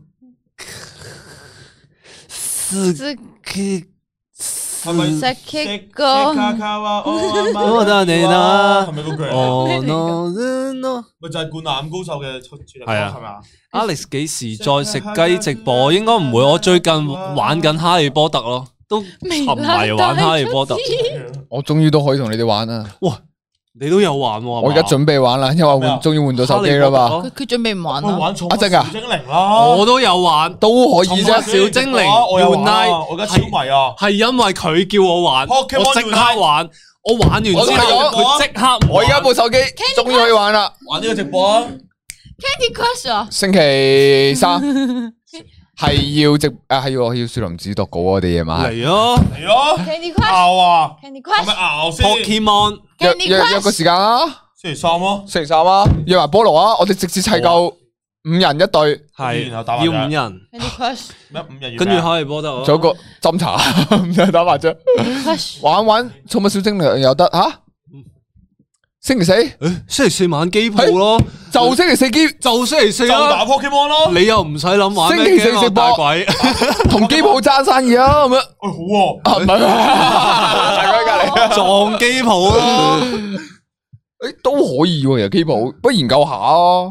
是佢。 係咪識識歌？ 我得你啦， 係咪嗰句？ 哦 no no， 咪就係灌籃高手嘅出處，係啊，係咪啊 ？Alex 幾時再食雞直播？應該唔會，我最近玩緊哈利波特咯，都沉迷玩哈利波特。 我終於都可以同你哋玩啦！ 哇，你都有玩喎？ 我而家準備玩啦，因為換終於換咗手機啦嘛。 佢佢準備唔玩啦。 玩阿正啊， 小精靈啦， 我都有玩， 都可以啫。 小精靈， 我有玩，我而家超迷啊！ 係因為佢叫我玩，我即刻玩。我玩完之後，佢即刻。 我而家部手機終於可以玩啦！ 玩呢個直播啊 ！Candy Crush 啊！ 星期三係要直啊，係要要樹林子讀稿我哋夜晚嚟咯嚟咯 ！Candy Crush 拗啊 ！Candy Crush 係咪拗先 ？Pokemon 約約約個時間啊！ 星期三咯， 星期三啊！約埋菠蘿啊！我哋直接砌夠五人一隊， 係要五人。 Candy Crush 咩五人？ 跟住哈利波特， 仲有個斟茶，唔使打麻雀，玩玩寵物小精靈又得吓。星期四，誒， 星期四晚機鋪咯， 就星期四機， 就星期四啦，打 Pokemon 咯， 你又唔使諗玩星期四直播，同機鋪爭生意啊，咁樣， 好喎， 啊唔係，大家隔籬撞機鋪咯， 誒都可以喎，又機鋪，不如研究下啊，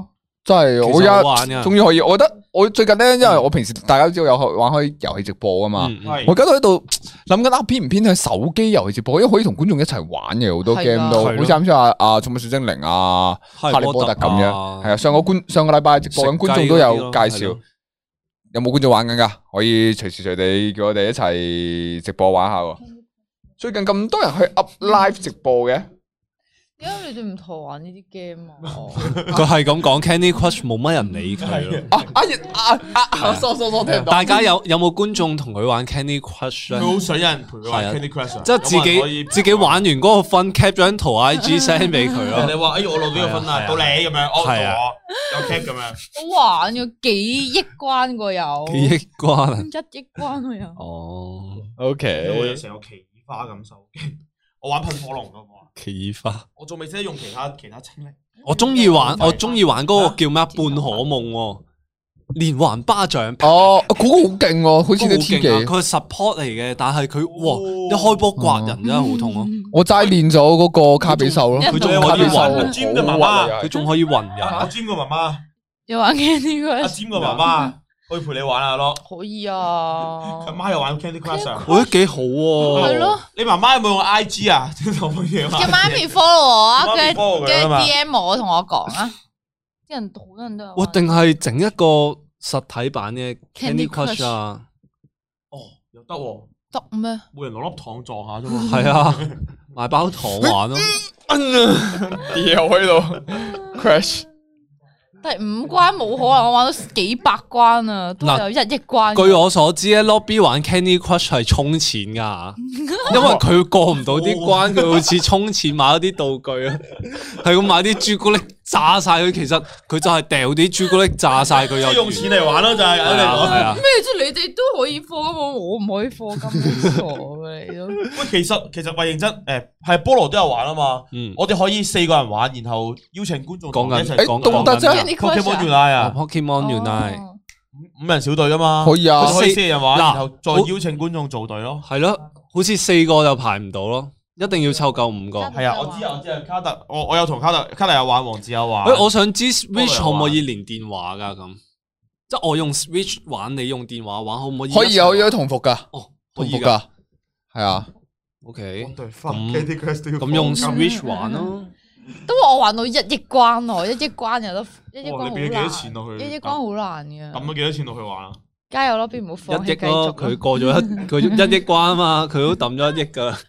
真係我而其實好玩㗎家終於可以，我覺得我最近咧，因為我平時大家都知道有玩開遊戲直播啊嘛， 嗯嗯係我而家都喺度諗緊啊，偏唔偏向手機遊戲直播，因為可以同觀眾一齊玩嘅好多係 game 都， 係咯好似啱先話啊寵物小精靈啊、 哈哈利波特咁樣，係啊，上個觀上個禮拜直播緊， 食雞觀眾都有介嗰啲紹咯， 有冇觀眾玩緊噶？可以隨時隨地叫我哋一齊直播玩下喎。最近咁多人去 up live 直播嘅。 點解你哋唔同我玩呢啲 game 啊？ 佢係咁講 Candy Crush 冇乜人理佢咯。 啊啊啊啊！疏疏疏聽唔到。 大家有有冇觀眾同佢玩 Candy Crush 咧？ 佢好想有人陪佢玩係啊 Candy Crush，啊即係自有冇人可以己自己玩完嗰個分 cap 咗張圖 I G send 俾佢咯。 人哋話：哎呀，我攞到呢個分啦， 係啊到你咁樣，我係啊到我有 cap 咁樣。 好玩嘅，幾億關個有， 幾億關啊！ 一億關個有。 哦， O 我 K， 有成個奇異花咁手機，我玩噴火龍噶嘛， 奇異花。 我仲未識得用其他其他清力。 我中意玩， 係我中意玩嗰個叫咩啊？半可夢喎，連環巴掌。 哦，嗰個好勁喎，好似啲 T 技。 佢係 support 嚟嘅，但係佢哇一開波刮人真係好痛咯。 我齋練咗嗰個卡比獸咯， 佢仲嗯可以阿暈， 尖嘅媽媽， 佢仲可以暈阿人。 尖個媽媽， 有玩 Candy 阿 Crush？ 尖個媽媽可以陪你玩下咯。 可以啊佢。媽又玩 Candy Crush 啊？ 我覺得幾好喎。 係咯， 你媽媽有冇用 I G 啊？同乜嘢叫媽咪 follow 我啊， 媽咪跟 follow 住佢啊嘛 D M 我同我講啊。啲人好多人都有玩。 哇！定係整一個實體版嘅 Candy Candy Crush 啊？ 哦，又得喎， 得咩？ 每人攞粒糖撞下啫嘛。 係啊，買包糖玩咯。 掉喺度 crash。 第五關冇可能，我玩到幾百關啊，都有一億關。 據我所知咧，lobby 玩 Candy Crush 係充錢噶，因為佢過唔到啲關，佢好似充錢買咗啲道具啊，係咁買啲朱古力炸晒佢。其實佢就係掉啲朱古力炸晒佢， 即係又用錢嚟玩咯，就係係啊係啊。 咩啫？你哋都可以課金，我唔可以課金，傻嘅你都。 喂，其實其實喂認真，誒係菠蘿都有玩啊嘛。 嗯， 我哋可以四個人玩，然後邀請觀眾同我哋一齊誒講緊都得啫講緊 Candy Pokemon Crush 啊 Unite 啊， Pokemon Unite 哦五人小隊噶嘛， 可以啊佢哋可以四個人玩， 嗱然後再邀請觀眾做隊咯。 係咯，好似四個就排唔到咯，一定要湊夠五個。 係啊，我知啊，我知啊，卡特，我我有同卡特，卡特有玩，黃子有玩。 誒，我想知 Switch 可菠蘿有玩唔可以連電話噶咁？即係我用 Switch 玩，你用電話玩，可唔可以？ 可以啊，可以啊，同服噶， 哦，可以㗎。 同服噶，係啊。 OK， 咁咁咁用 Switch 玩咯。 都話我玩到一億關喎，一億關有得一億關好哇你俾幾多難， 錢落去一億關好難嘅。 抌咗幾多錢落去玩啊？ 加油咯，邊唔好放棄繼一億咯， 續佢過咗一佢一億關啊嘛，佢都抌咗一億噶啦。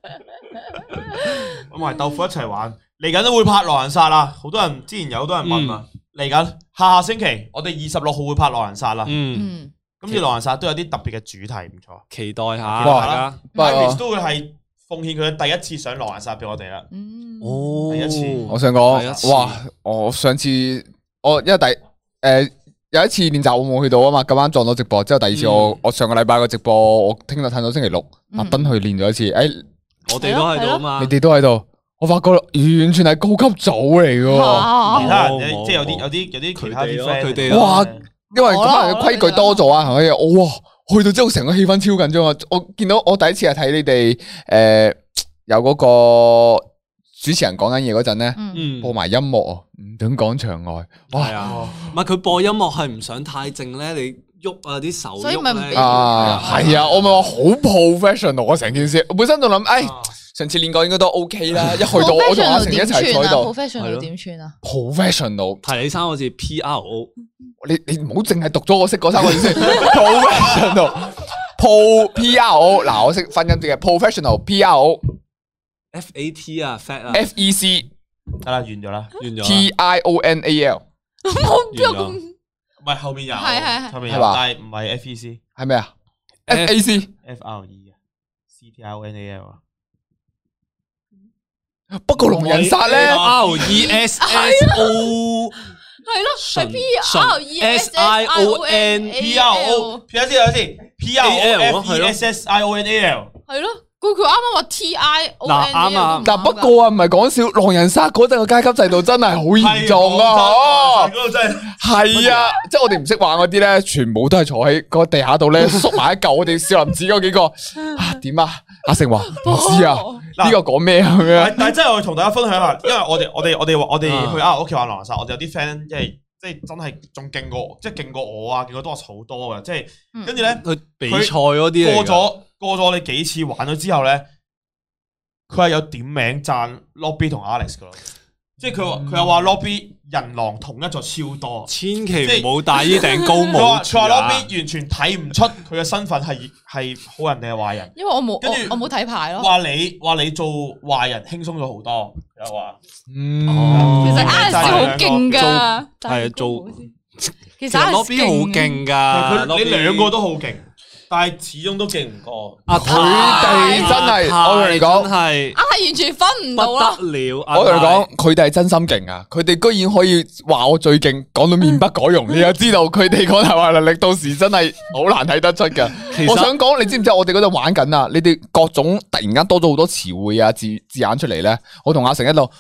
咁埋豆腐一齊玩，嚟緊都會拍狼人殺啦。好多人之前有好多人問啊，嚟緊下下星期我哋二十六號會拍狼人殺啦。 嗯， 嗯， 今次狼人殺都有啲特別嘅主題，唔錯。 期待下哇大家。 不過 Iris 都會係奉獻佢嘅第一次上狼人殺俾我哋啦。 嗯， 哦， 第一次我想第一次講，哇！我上次我因為第誒有一次練習我冇去到啊嘛，咁啱撞到直播，之後第二次我我上個禮拜個直播，我聽日睇到星期六，特登去練咗一次。誒， 我哋都喺度啊嘛你。哋都喺度，我發覺完全係高級組嚟噶。 啊其他人冇即係有啲冇有啲有啲其他啲佢哋咯 friend， 佢哋咯哇！因為可能規矩多咗啊，係咪？我哇，去到之後成個氣氛超緊張啊！我見到我第一次係睇你哋誒有嗰個主持人講緊嘢嗰陣咧， 嗯， 嗯， 播埋音樂啊，唔准講場外。哇！ 係啊，唔係佢播音樂係唔想太靜咧，你喐啊啲手所以咪唔俾喐咧。 啊，係啊，我咪話好 professional 啊成件事，我本身就諗，誒，上次練過應該都 OK 啦，一去到我同阿成一齊坐喺度 professional 點串啊？ ，professional， 提你三個字 P R O， 你你唔好淨係讀咗我識嗰三個字先，professional，pro P R O，嗱我識分音字嘅 professional P R O F A T 啊 fat 啊， F E C 得啦，完咗啦。 完咗 T 啦。 I O N A L 冇完咗邊有咁唔係後面有， 係係係後面有， 係嘛但係唔係 F E C，F 係咩啊？F A C R E 啊，C T I O N A L 啊。 不過龍人殺咧， R E S S O 係咯，係 P 純 R E S I O N P R O P R 先有先 P R O F E S S I O N A L。 係咯，佢佢啱啱話 T I O N 嗱啱啊但不過啊，唔係講笑，狼人殺嗰陣嘅階級制度真係好嚴重啊！ 嗰度真係係啊，即係我哋唔識玩嗰啲咧，全部都係坐喺個地下度咧，縮埋一嚿。我哋少林寺嗰幾個啊，點啊？阿成話唔知啊，呢個講咩啊？咁樣但但係真係我同大家分享下，因為我哋我哋我哋我哋去啊屋企玩狼人殺，我哋有啲 friend 即係即係真係仲勁過，即係勁過我啊，勁過多好多嘅，即係跟住咧佢比賽嗰啲過咗過咗我哋幾次玩咗之後咧，佢係有點名讚 Lobby 同 Alex 噶咯，即係佢話佢又話 Lobby 人狼同一座超多， 千祈唔好戴呢頂高帽。 佢話 Lobby 完全睇唔出佢嘅身份係係好人定係壞人， 因為我冇跟住我冇睇牌咯。 話你話你做壞人輕鬆咗好多，又話嗯， 其實 Alex 好勁噶， 係做， 其實其實 Lobby 好勁噶， 佢你兩個都好勁。但係始終都勁唔過， 阿佢哋真係，我同你講係， 啊係完全分唔到咯。 不得了， 我同你講，佢哋係真心勁啊！佢哋居然可以話我最勁，講到面不改容，你又知道佢哋講大話能力，到時真係好難睇得出噶。我想講，你知唔知我哋嗰度玩緊啊？你哋各種突然間多咗好多詞彙啊字字眼出嚟咧，我同阿成一路，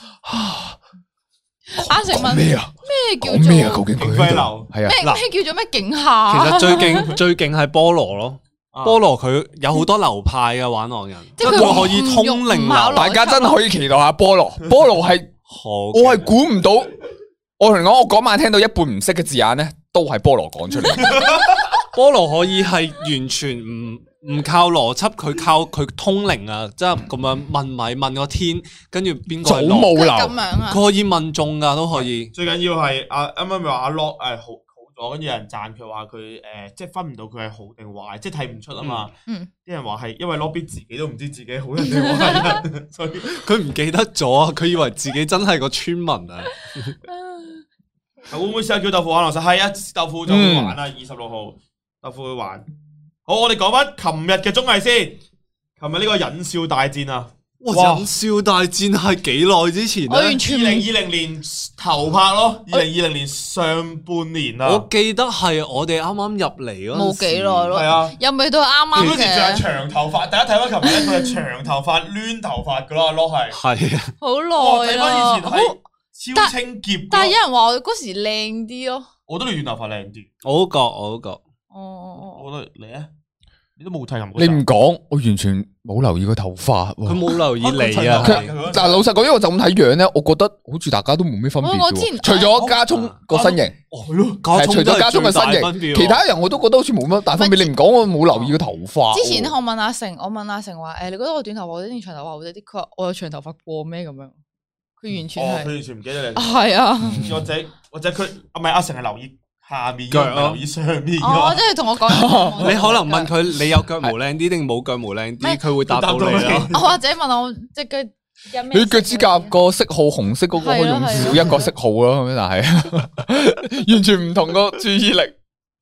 阿成問咩啊？ 咩叫做咩啊？究竟佢飛流係啊？ 咩咩叫做咩景下？ 其實最勁最勁係菠蘿咯，菠蘿佢有好多流派嘅玩狼人， 即係佢可以通靈流， 大家真係可以期待下菠蘿。菠蘿係我係估唔到，我同你講，我嗰晚聽到一半唔識嘅字眼咧，都係菠蘿講出嚟。 菠蘿可以係完全唔唔靠邏輯，佢靠佢通靈啊！即係咁樣問米問個天，跟住邊個係祖母流咁樣啊？ 佢可以問中噶，都可以。 最緊要係阿啱啱咪話阿 Lock 誒好好咗，跟住有人讚佢話佢誒即係分唔到佢係好定壞，即係睇唔出啊嘛。 嗯， 啲人話係因為 Lobby 自己都唔知自己好人定壞人，所以佢唔記得咗啊！佢以為自己真係個村民啊！ 會唔會試下叫豆腐玩落實？係啊，豆腐就會玩啊！二十六號豆腐會玩。好，我哋講翻琴日嘅綜藝先。琴日呢個忍笑大戰啊！ 哇！忍笑大戰係幾耐之前咧？ 我完全二零二零年頭拍咯，二零二零年上半年啊。 我記得係我哋啱啱入嚟嗰陣時冇幾耐咯。 係啊， 又未到啱啱嗰時仲係嘅， 長頭髮。大家睇翻琴日咧，佢係長頭髮、攣頭髮噶啦，咯係。 係啊， 好哇！睇耐啦。 翻以前係超清潔。 但係有人話我嗰時靚啲咯。 我覺得你短頭髮靚啲。 我都覺，我都覺。 哦哦我覺得你咧，你都冇睇琴。 你唔講，我完全冇留意個頭髮。 佢冇留意你啊！ 佢但係老實講，因為我就咁睇樣咧，我覺得好似大家都冇咩分別我我之前嘅。除咗加聰個身形， 係咯， 係除咗加聰嘅身形，其他人我都覺得好似冇乜大分別。你唔講，我冇留意個頭髮。 之前咧，我問阿成，我問阿成話：誒，你覺得我短頭髮好啲定長頭髮好啲？佢話我有長頭髮過咩咁樣？佢完全哦， 係佢完全唔記得你。 係啊。 或者或者佢啊，唔係阿成係留意下面， 腳唔係留意上面㗎哦， 嘛即係同我講， 你可能問佢你有腳毛靚啲定冇腳毛靚啲，佢會答到你咯。 我或者問我即係腳有咩？ 你腳趾甲個色號紅色嗰個可以用少一個色號咯，咁但係完全唔同個注意力。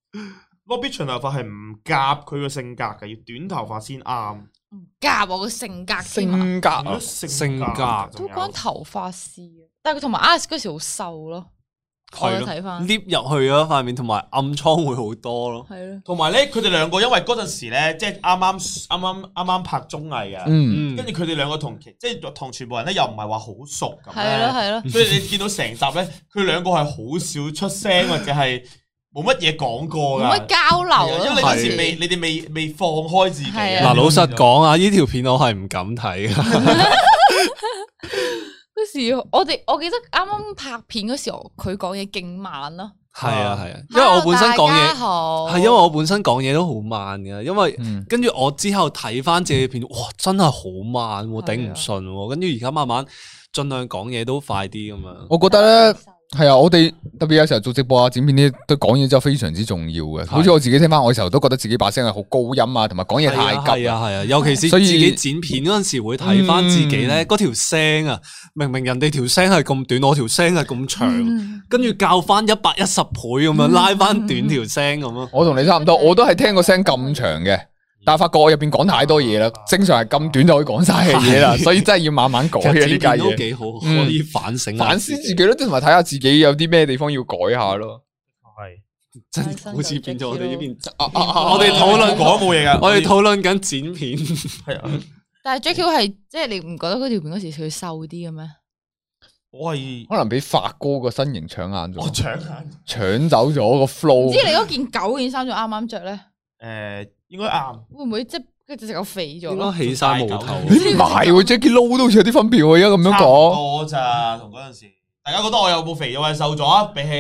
Lobby 長頭髮係唔夾佢個性格嘅，要短頭髮先啱。 夾我個性格添啊， 性格啊， 性格都關頭髮事啊。但係佢同埋 Alex 嗰時好瘦咯，我有睇翻， lift 入去嗰塊面，同埋暗瘡會好多咯。 係咯。 同埋咧，佢哋兩個因為嗰陣時咧，即係啱啱啱啱啱啱拍綜藝嘅， 嗯， 跟住佢哋兩個同其即係同全部人咧又唔係話好熟咁係咯係咯， 所以你見到成集咧，佢兩個係好少出聲或者係冇乜嘢講過㗎， 冇乜交流咯。 因為你嗰時未，你哋未未放開自己。 係啊嗱，老實講啊，呢條片我係唔敢睇噶。 嗰時我哋我記得啱啱拍片嗰時候，佢講嘢勁慢咯。 係啊係啊，因為我本身講嘢好， 係因為我本身講嘢都好慢嘅，因為嗯跟住我之後睇翻自己片，哇，真係好慢喎，頂唔係啊順喎。跟住而家慢慢盡量講嘢都快啲咁樣。 我覺得咧。係啊，我哋特別有時候做直播啊、剪片呢，都講嘢真係非常之重要嘅。好似我自己聽翻，我有時候都覺得自己把聲係好高音啊，同埋講嘢太急。 係啊係啊，尤其是所以自己剪片嗰陣時會睇翻自己咧，嗰條聲啊，明明人哋條聲係咁短，我條聲係咁長，跟住校翻一百一十倍咁樣拉翻短條聲咁咯。 我同你差唔多，我都係聽個聲咁長嘅。但係發覺我入邊講太多嘢啦，正常係咁短就可以講晒嘅嘢啦，所以真係要慢慢改嘅呢家嘢。 都幾好，可以反省反思自己咯，同埋睇下自己有啲咩地方要改下咯。 係真係好似變咗我哋呢邊， 我我哋討論講冇嘢噶， 我哋討論緊剪片。 係啊， 但係 J Q 係即係你唔覺得嗰條片嗰時佢瘦啲嘅咩？ 我係可能俾發哥個身形搶眼咗， 我搶眼， 搶走咗個 flow。 唔知你嗰件狗件衫仲啱唔啱着咧？ 誒，應該啱。 會唔會即係佢隻狗肥咗應該咯？ 起晒毛頭。 唔係喎，Jackie Lou 都好似有啲分別喎，而家咁樣講。 多咋，同嗰陣時，大家覺得我有冇肥咗或者瘦咗啊？比起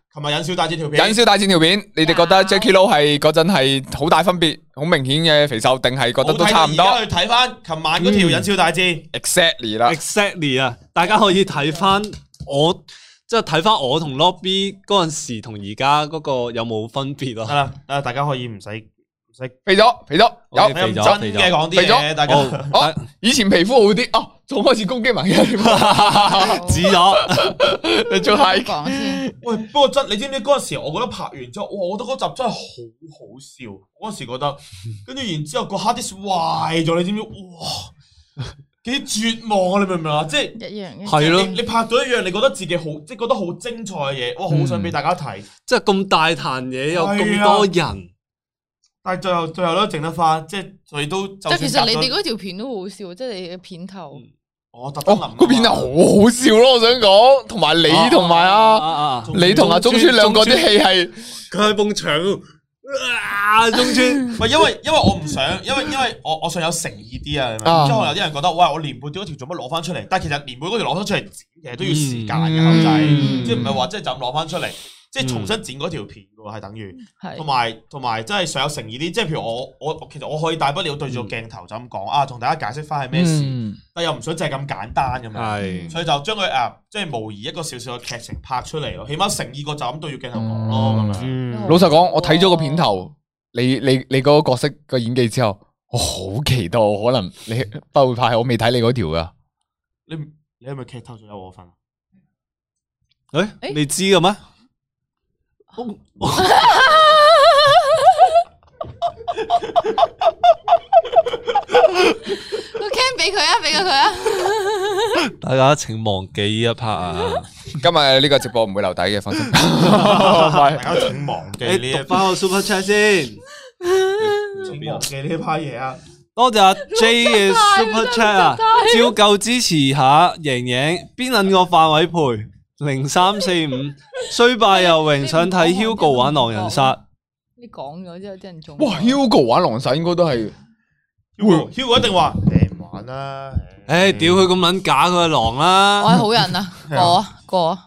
琴日忍笑大戰條片， 忍笑大戰條片，你哋覺得 Jacky Lou 係嗰陣係好大分別，好明顯嘅肥瘦，定係覺得都差唔多？ 而家去睇翻琴晚嗰條忍笑大戰 ，exactly 啦 ，exactly 啊！大家可以睇翻我，即係睇翻我同 Lobby 嗰陣時同而家嗰個有冇分別咯？ 得啦，誒，大家可以唔使唔使肥咗，肥咗，有肥咗， 真嘅講啲嘢，大家哦，以前皮膚好啲，哦，仲開始攻擊埋嘅， 指咗， 你仲係講先。 喂，不過真，你知唔知嗰陣時？我覺得拍完之後，哇！我覺得嗰集真係好好笑。嗰陣時覺得，跟住然之後個 hard disk 壞咗，你知唔知？哇！幾絕望啊！你明唔明啊？即係一樣嘅。 係咯， 你拍到一樣，你覺得自己好，即係覺得好精彩嘅嘢，哇！好想俾大家睇。 即係咁大壇嘢，有咁多人， 但係最後最後都整得翻，即係所以都。 但其實你哋嗰條片都好笑，即係你嘅片頭。 我特登諗， 嗰片係好好笑咯！我想講，同埋你同埋啊，你同阿中村兩個啲戲係佢喺埲牆，啊中村， 唔係因為因為我唔想，因為因為我我想有誠意啲啊，即係可能有啲人覺得，喂，我年半段嗰條做乜攞翻出嚟？但係其實年半嗰條攞翻出嚟剪，其實都要時間嘅，後仔，即係唔係話即係就咁攞翻出嚟。即係重新剪嗰條片嘅喎，係等於，同埋同埋真係想有誠意啲。即係譬如我我其實我可以大不了對住個鏡頭就咁講啊，同大家解釋翻係咩事，但又唔想就係咁簡單咁樣，所以就將佢誒即係模擬一個少少嘅劇情拍出嚟咯。起碼誠意過就咁對住鏡頭講咯咁樣。 老實講，我睇咗個片頭，你你你嗰個角色個演技之後，我好期待可能你不會拍，我未睇你嗰條噶。 你你係咪劇透咗有我份？ 誒，你知嘅咩？ 個 cam 俾佢啊，俾佢佢啊！ 大家請忘記呢一 part 啊！ 今日呢個直播唔會留底嘅，放心。 大家請忘記呢一 part 翻個 super chat 先， 請忘記呢一 part 嘢啊！ 多謝阿 J 嘅 super chat 啊！照舊支持下瑩瑩，邊撚個範位陪？零三四五雖敗猶榮，想睇 Hugo 玩狼人殺。 你講咗之後，啲人仲哇 Hugo 玩狼人殺應該都係 Hugo 一定話你唔玩啦。 誒，屌佢咁撚假，佢係狼啦。 我係好人啊，過啊過啊。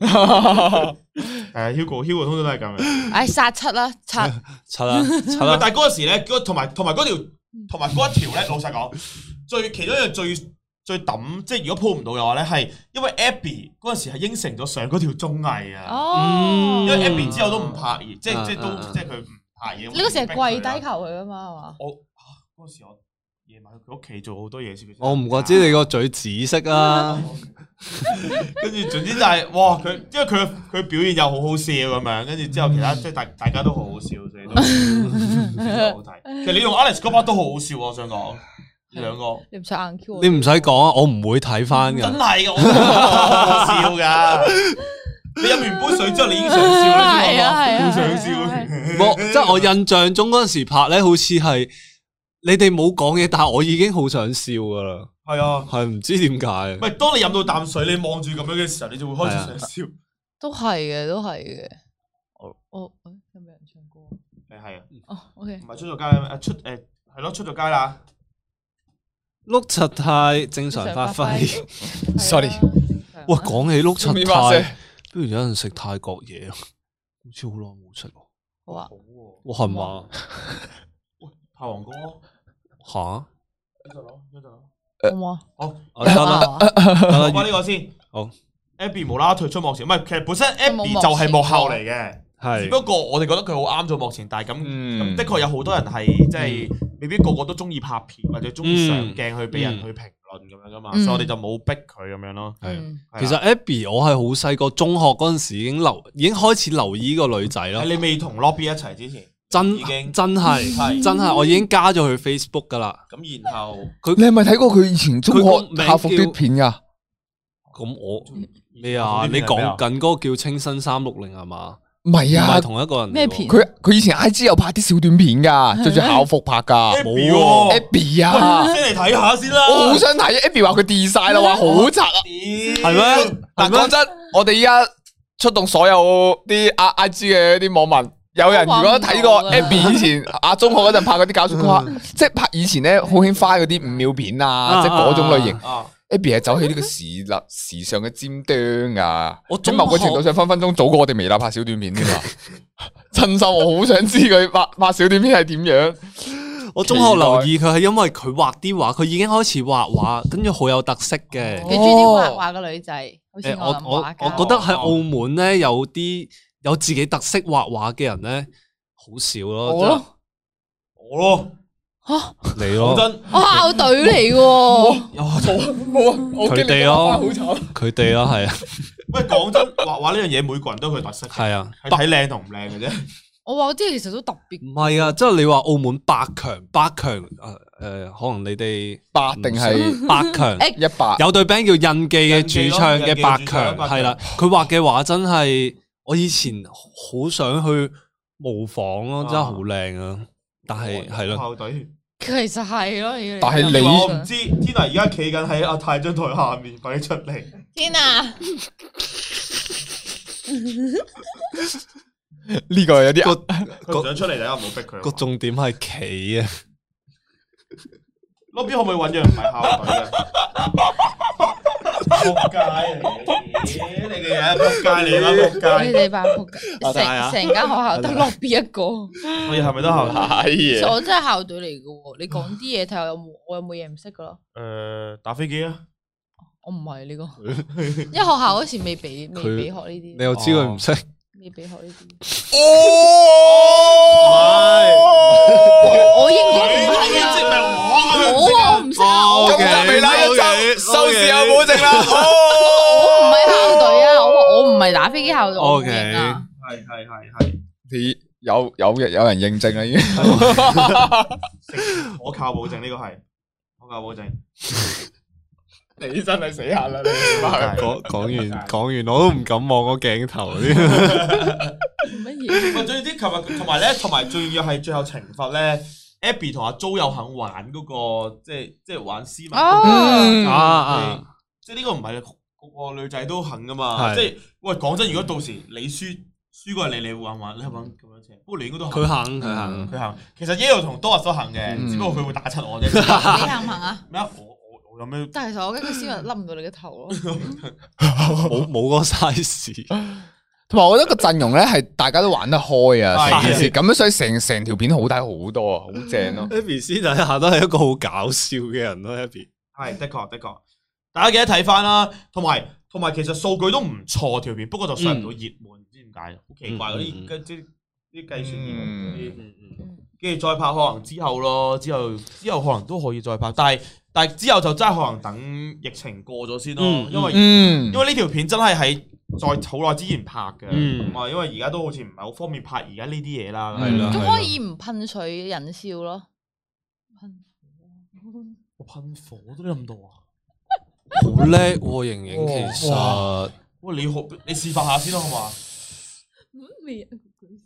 誒 Hugo Hugo 通常都係咁嘅。 唉，殺七啦，七七啦七啦。 但係嗰陣時咧，同埋同埋嗰條同埋嗰一條咧，老實講，最其中一樣最。最抌，即係如果鋪唔到嘅話咧，係因為 Abby 嗰陣時係應承咗上嗰條綜藝啊， 哦， 因為 Abby 之後都唔拍嘢，即係即係都即係佢唔拍嘢。 你嗰時係跪低求佢啊嘛，係嘛？ 我嗰時我夜晚去佢屋企做好多嘢先。 我唔怪知你個嘴紫色啊！ 跟住總之就係哇佢，因為佢佢表現又好好笑咁樣，跟住之後其他即係大大家都好好笑，所以都好睇。其實你用 Alex 嗰 part 都好好笑，我想講。兩個， 你唔使硬 Q 你唔使講啊，我唔會睇翻噶。 真係嘅，我好笑噶。你飲完杯水之後，你已經想笑啦， 係啊係啊， 好想笑。 我即係我印象中嗰陣時拍咧，好似係你哋冇講嘢，但係我已經好想笑噶啦。 係啊， 係唔知點解。 唔係，當你飲到啖水，你望住咁樣嘅時候，你就會開始想笑。 都係嘅，都係嘅。我我有冇人唱歌？ 誒係啊。 哦，OK。 唔係出咗街誒出誒係咯，出咗街啦。 碌柒太正常發揮 ，sorry。 喂，講起碌柒太，不如有人食泰國嘢啊？好似好耐冇食喎。 好啊。 哇，係嘛？ 喂，泰王哥。 吓？ 呢度攞，呢度攞。 好嘛？ 好， 得啦， 講翻呢個先。 好。 Abby 無啦啦退出幕前，唔係，其實本身 Abby 就係幕後嚟嘅。 係， 只不過我哋覺得佢好啱做幕前，但係咁咁的確有好多人係即係未必個個都中意拍片或者中意上鏡去俾人去評論咁樣噶嘛，所以我哋就冇逼佢咁樣咯。係， 其實 Abby 我係好細個，中學嗰陣時已經留，已經開始留意個女仔咯。 係你未同 Lobby 一齊之前， 真已經真係真係，我已經加咗佢 Facebook 噶啦。 咁然後佢，你係咪睇過佢以前中學校服啲片噶？ 咁我咩啊？你講緊嗰個叫清新三六零係嘛？ 唔係啊， 唔係同一個人。 咩片？ 佢佢以前 I G 有拍啲小短片噶，着住校服拍噶。 冇喎 Abby 啊， 先嚟睇下先啦。 我好想睇 Abby 話佢 delete 晒啦，話好柒啊。 係咩？ 嗱，講真，我哋依家出動所有啲 I G 嘅啲網民，有人如果睇過 Abby 以前啊中學嗰陣拍嗰啲搞笑曲，即係拍以前咧好興翻嗰啲五秒片啊，即係嗰種類型。 Abby 係走喺呢個時立時尚嘅尖端噶， 我喺某個程度上分分鐘早過我哋微辣拍小短片添嘛。真心我好想知佢拍拍小短片係點樣。 我中學留意佢係因為佢畫啲畫，佢已經開始畫畫，跟住好有特色嘅。 你中意啲畫畫嘅女仔，好似我我我咁我覺得喺澳門咧有啲有自己特色畫畫嘅人咧好少咯。 我咯， 我咯。 吓你咯， 我校隊嚟嘅， 佢哋咯，佢哋咯，係啊。 喂，講真，畫畫呢樣嘢，每個人都有佢特色， 係啊， 係睇靚同唔靚嘅啫。 我話啲其實都特別， 唔係啊，即係你話澳門百強，百強誒誒，可能你哋百定係百強一百， 有隊 band 叫印記嘅主唱嘅百強，係啦，佢畫嘅畫真係我以前好想去模仿咯，真係好靚啊！但係係咯， 校隊其實係咯， 但係你我唔知，天啊！而家企緊喺阿泰張台下面，快啲出嚟！ 天啊！ 呢個有啲佢唔想出嚟，大家唔好逼佢。 個重點係企啊！ 嗰邊可唔可以揾樣唔係校隊嘅？仆街嚟！你嘅嘢仆街嚟啦，仆街！ 你哋班仆街，成成間學校得落邊一個？ 我哋係咪都校隊？ 其實我真係校隊嚟嘅喎，你講啲嘢睇下有冇，我有冇嘢唔識噶咯？ 誒，打飛機啊！ 我唔係呢個，因為學校嗰時未俾未俾學呢啲。 你又知佢唔識？ 未俾學呢啲。 哦， 我應該唔係啊！我我唔識啊！ 今日微辣一周收視有保證啦！ 我唔係校隊啊！我我唔係打飛機校隊。O K， 係係係係。 你有有有人認證啦已經， 可靠保證呢個係可靠保證。 你真係死硬啦！你講講完講完，我都唔敢望個鏡頭啲乜嘢？ 最啲琴日同埋咧，同埋最要係最後懲罰咧 ，Abby 同阿 Jo 有肯玩嗰個，即係即係玩絲襪。 啊啊！ 即係呢個唔係個個女仔都肯噶嘛？即係喂，講真，如果到時你輸輸過嚟，你玩唔玩？你係玩咁樣啫？不過你應該都佢肯，佢肯， 佢肯。其實 Yelo 同 Doris 都肯嘅，只不過佢會打柒我啫。 你肯唔肯啊？ 咩啊？我我有咩？ 但係其實我驚佢絲襪笠唔到你嘅頭咯。 冇冇個 size。 同埋我覺得個陣容咧係大家都玩得開啊，成件事咁樣，所以成成條片好睇好多啊，好正咯。 Abby 私底下都係一個好搞笑嘅人咯 ，Abby 係的確的確，大家記得睇翻啦。同埋同埋，其實數據都唔錯條片，不過就上唔到熱門，唔知點解，好奇怪嗰啲即啲計算熱門嗰啲。跟住再拍可能之後咯，之後之後可能都可以再拍，但係但係之後就真係可能等疫情過咗先咯，因為因為呢條片真係喺在好耐之前拍嘅，咁啊，因為而家都好似唔係好方便拍而家呢啲嘢啦，係啦。 咁可以唔噴水引笑咯？噴火， 我噴火都諗到啊！ 好叻喎，瑩瑩其實， 喂，你好，你示範下先啦，好嘛？ 咩啊？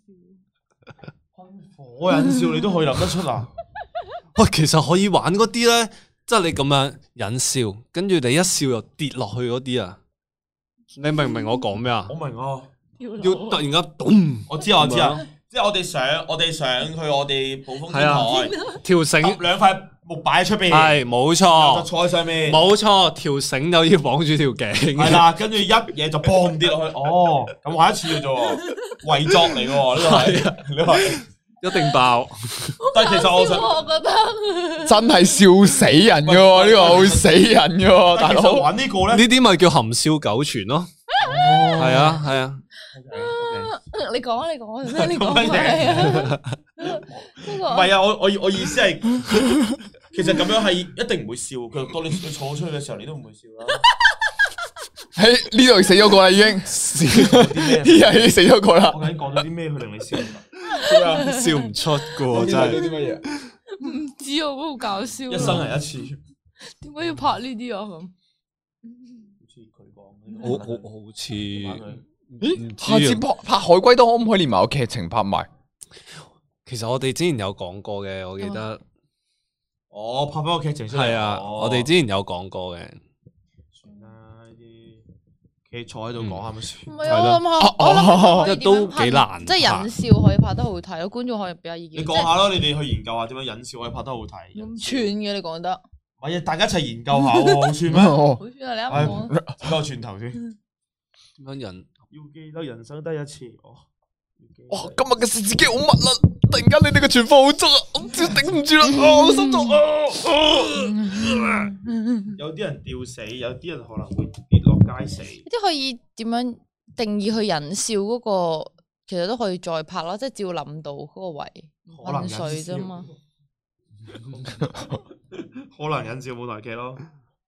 噴火引笑你都可以諗得出啊！ 喂，其實可以玩嗰啲咧，即係你咁樣引笑，跟住你一笑又跌落去嗰啲啊！你明唔明我講咩啊？ 我明啊！ 要突然間咚！ 我知啊，我知啊，即係我哋上我哋上去我哋暴風天台， 條繩兩塊木擺喺出邊， 係冇錯， 就坐喺上面， 冇錯，條繩就要綁住條頸， 係啦，跟住一嘢就嘣跌落去，哦，咁玩一次嘅啫，偽作嚟嘅呢個係，你話一定爆。 但係其實我想， 我覺得真係笑死人嘅喎，呢個會死人嘅喎，大佬玩呢個咧， 呢啲咪叫含笑九泉咯，係啊係啊。 你講啊，你講啊，你講啊， 唔係啊，我我我意思係，其實咁樣係一定唔會笑。佢當你你坐出去嘅時候，你都唔會笑啦。 喺呢度死咗個啦，已經笑啲咩？呢日已經死咗個啦。 我究竟講咗啲咩去令你笑？ 笑唔出噶，真係。 啲乜嘢？ 唔知啊，好搞笑。 一生人一次， 點解要拍呢啲啊？咁好似佢講， 好好好似。 咦？下次拍拍海龜都可唔可以連埋個劇情拍埋？ 其實我哋之前有講過嘅，我記得。 哦，拍翻個劇情出嚟。 係啊，我哋之前有講過嘅。 算啦，呢啲企坐喺度講下咪算。 唔係啊，我諗下，我諗下都幾難， 即係忍笑可以拍得好睇咯，觀眾可以俾下意見。 你講下咯，你哋去研究下點樣忍笑可以拍得好睇。 咁串嘅你講得。 唔係啊，大家一齊研究下喎，好串咩？ 哦好串啊！你啱講， 整個串頭先。 點樣人？ 要記得人生得一次。哦， 哇！今日嘅事自己好密啦，突然間你哋嘅傳播好足啊，我唔知頂唔住啦，啊我心臟啊！ 有啲人吊死，有啲人可能會跌落街死。 即係可以點樣定義佢人笑嗰個，其實都可以再拍咯，即係照諗到嗰個位可能噴水啫嘛。 可能忍笑舞台劇咯。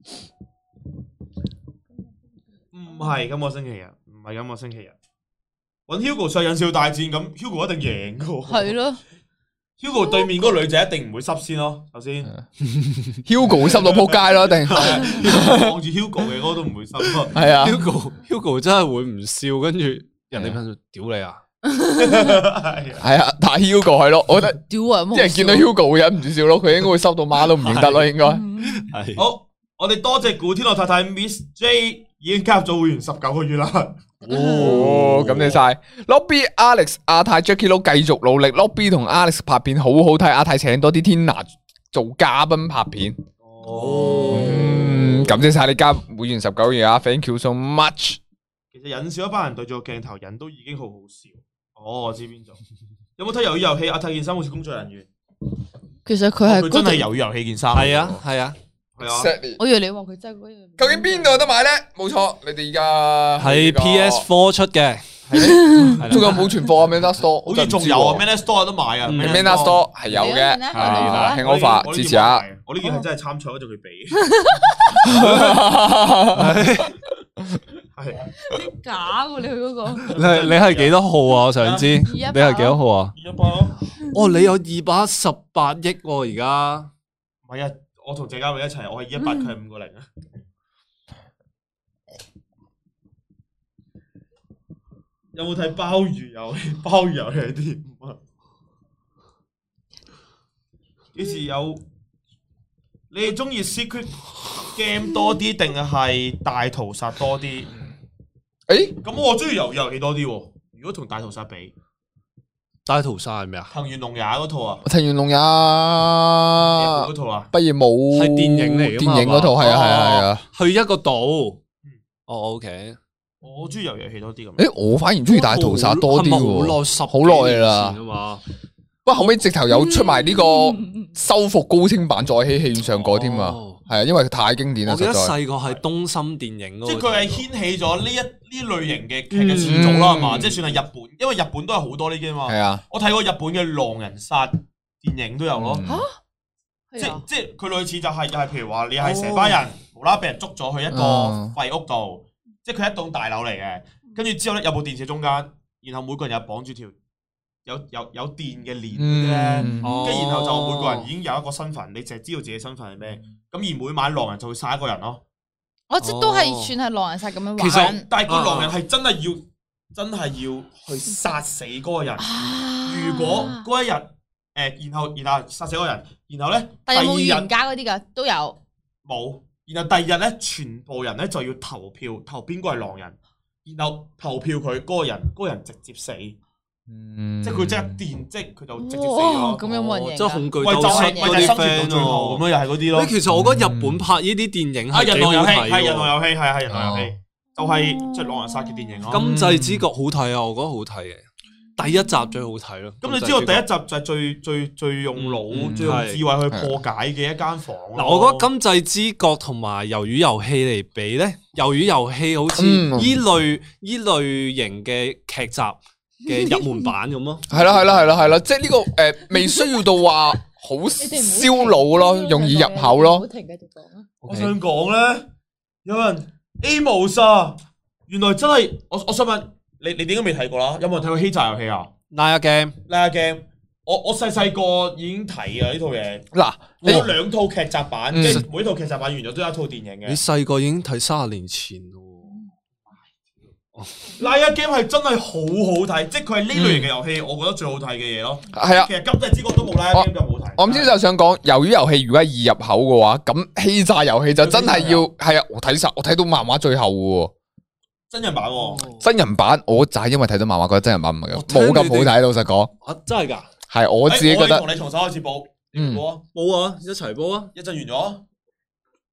唔係今個星期日，唔係今個星期日。揾 Hugo 上忍笑大戰咁 ，Hugo 一定贏噶。 係咯 ，Hugo 對面嗰個女仔一定唔會濕先咯。首先 Hugo 會濕到撲街咯，一定望住 Hugo 嘅嗰個都唔會濕咯。 係啊 Hugo Hugo 真係會唔笑，跟住人哋噴屌你啊！ 係啊，但係 Hugo 係咯，我覺得屌啊！ 啲人見到 Hugo 會忍唔住笑咯，佢應該會濕到媽都唔認得咯，應該。 係好，我哋多謝古天樂太太 Miss J 已經加入咗會員十九個月啦。 哦，感謝晒 Lobby Alex 阿泰 Jackie Lou 繼續努力 ，Lobby 同 Alex 拍片好好睇，阿泰請多啲 Tina 做嘉賓拍片。 哦， 嗯，感謝晒你加會員十九個月啊 ，Thank you so much。 其實忍笑一班人對住個鏡頭，人都已經好好笑。哦，我知邊種。有冇睇魷魚遊戲？阿泰件衫好似工作人員。 其實佢係佢真係魷魚遊戲件衫。 係啊係啊， 係啊。 我以為你話佢真係嗰樣。 究竟邊度有得買咧？冇錯，你哋而家係 P S 四 出嘅， 仲有冇存貨啊 ？Manner Store 好似仲有啊 ，Manner Store 有得買啊 ，Manner Store 係有嘅，係啦，慶 offer 支持下。 我呢件係真係參賽嗰陣佢俾。係假喎！你去嗰個。 你你係幾多號啊？我想知你係幾多號啊？ 二一八咯。 哦，你有二百一十八億喎，而家。 唔係啊，我同謝家偉一齊，我係二一八，佢係五個零啊。有冇睇鮑魚遊戲？鮑魚遊戲係點啊？幾時有？你哋中意 Secret Game 多啲定係大屠殺多啲？ 誒， 咁我中意魷魚遊戲多啲喎。如果同大屠殺比， 大屠殺係咩啊？ 藤原龍也嗰套啊， 藤原龍也嗰套啊， 畢業舞係電影嚟㗎嘛電影嗰套係啊係啊係啊。 去一個島。哦，OK。 我中意魷魚遊戲多啲咁。 誒，我反而中意大屠殺多啲喎， 好耐十好耐啦啊嘛。 不過後尾直頭有出埋呢個修復高清版再喺戲院上過添啊，係啊，因為太經典啦。 我記得實在細個係東森電影嗰個， 即係佢係掀起咗呢一呢類型嘅劇嘅始祖啦，係嘛？即係算係日本，因為日本都係好多呢啲啊嘛。 係啊， 我睇過日本嘅狼人殺電影都有咯。 嚇！ 即即係佢類似就係又係譬如話你係成班人無啦啦俾人捉咗去一個廢屋度，即係佢一棟大樓嚟嘅，跟住之後咧有部電視中間，然後每個人又綁住條有有有電嘅鏈咧，跟住然後就每個人已經有一個身份，你淨係知道自己身份係咩，咁而每晚狼人就會殺一個人咯。 我即都係算係狼人殺咁樣玩。 其實但係個狼人係真係要真係要去殺死嗰個人。如果嗰一日誒，然後然後殺死嗰個人，然後咧但有冇第二日冤家嗰啲㗎？都有。 冇。然後第二日咧，全部人咧就要投票，投邊個係狼人，然後投票佢嗰個人，嗰個人直接死。即係佢即係電，即係佢就直接死咗。 咁有冇人贏？ 即係恐懼喂，就鬥係室嗰啲咪就係生存 friend 到最後咁樣，又係嗰啲咯。 其實我覺得日本拍呢啲電影係人係幾好狼遊戲， 睇係人狼喎。 遊戲，係係人狼遊戲，就係即係狼人殺嘅電影咯。 今際之國好睇啊，我覺得好睇嘅。第一集最好睇咯。 咁你知道第一集就係最最最用腦、最用智慧去破解嘅一間房。 嗱，我覺得今際之國同埋魷魚遊戲嚟比咧，魷魚遊戲好似依類依類型嘅劇集嘅入門版咁咯。 係啦係啦係啦係啦，即係呢個誒未需要到話好燒腦咯，容易入口咯。 好停，繼續講啊！ 我想講咧，有人 Amos 啊，原來真係我我想問你，你點解未睇過啦？有冇人睇過欺詐遊戲啊？ Liar Game， Liar Game，我我細細個已經睇啊呢套嘢。 嗱， 我有兩套劇集版，即係每套劇集版完咗都有一套電影嘅。 你細個已經睇三十年前咯。 Liar Game 係真係好好睇，即係佢係呢類型嘅遊戲，我覺得最好睇嘅嘢咯。 係啊其，實今際之國都冇 Liar Game 咁好睇。 我唔知就想講，魷魚遊戲如果係易入口嘅話，咁欺詐遊戲就真係要係啊！我睇晒，我睇到漫畫最後嘅真人版喎， 真人版，我就係因為睇到漫畫覺得真人版唔係咁，冇咁好睇。老實講， 啊，真係㗎？ 係我自己覺得我同你從手開始報， 嗯報啊， 冇啊，一齊煲啊！ 一陣完咗。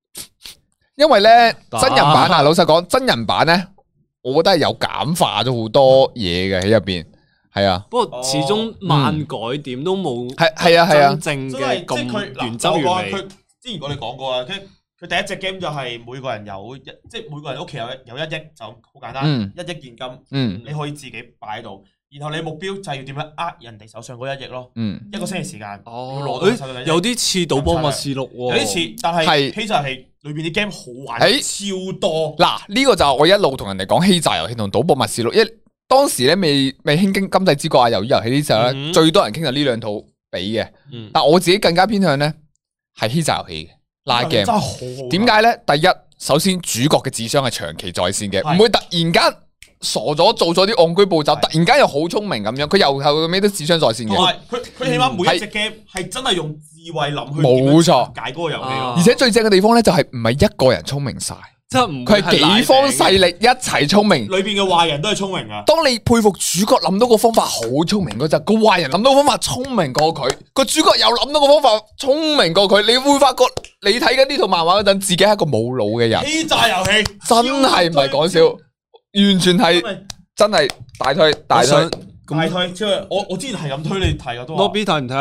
因為咧真人版啊，老實講，真人版咧，我覺得係有簡化咗好多嘢嘅喺入邊，係啊。 不過始終漫改點都冇係係啊係啊， 真正真係嘅即係佢咁原汁原味。 佢之前我哋講過啦，佢佢第一隻 game 就係每個人有一，即係每個人屋企有有一億就好簡單， 嗯一億現金， 嗯你可以自己擺喺度，然後你目標就係要點樣呃人哋手上嗰一億咯， 嗯， 一個星期時間，要哦攞，到手上嘅一億有啲似賭波默示錄喎， 有啲似，但係係其實係裏邊啲 game 好玩， 誒超多。 嗱呢個就係我一路同人哋講欺詐遊戲同賭博默示錄，一當時咧未未興經今際之國啊，魷魚遊戲呢時候咧， 嗯最多人傾就呢兩套比嘅， 嗯但我自己更加偏向咧係欺詐遊戲嘅拉 game。 真係好好玩。 點解咧？第一，首先主角嘅智商係長期在線嘅， 係唔會突然間傻咗做咗啲戇居步驟， 係突然間又好聰明咁樣，佢由頭到尾都智商在線嘅。 同埋佢佢起碼每一隻 game 係真係用智慧諗去冇錯解嗰個遊戲咯。 而且最正嘅地方咧，就係唔係一個人聰明晒， 即係唔佢係幾方勢力一齊聰明。 裏邊嘅壞人都係聰明噶。 當你佩服主角諗到個方法好聰明嗰陣，個壞人諗到個方法聰明過佢，個主角又諗到個方法聰明過佢，你會發覺你睇緊呢套漫畫嗰陣，自己係一個冇腦嘅人， 欺詐遊戲真係唔係講笑，完全係真係大推大推。 大推，即係我我之前係咁推你睇噶都話。 Lobby 睇唔睇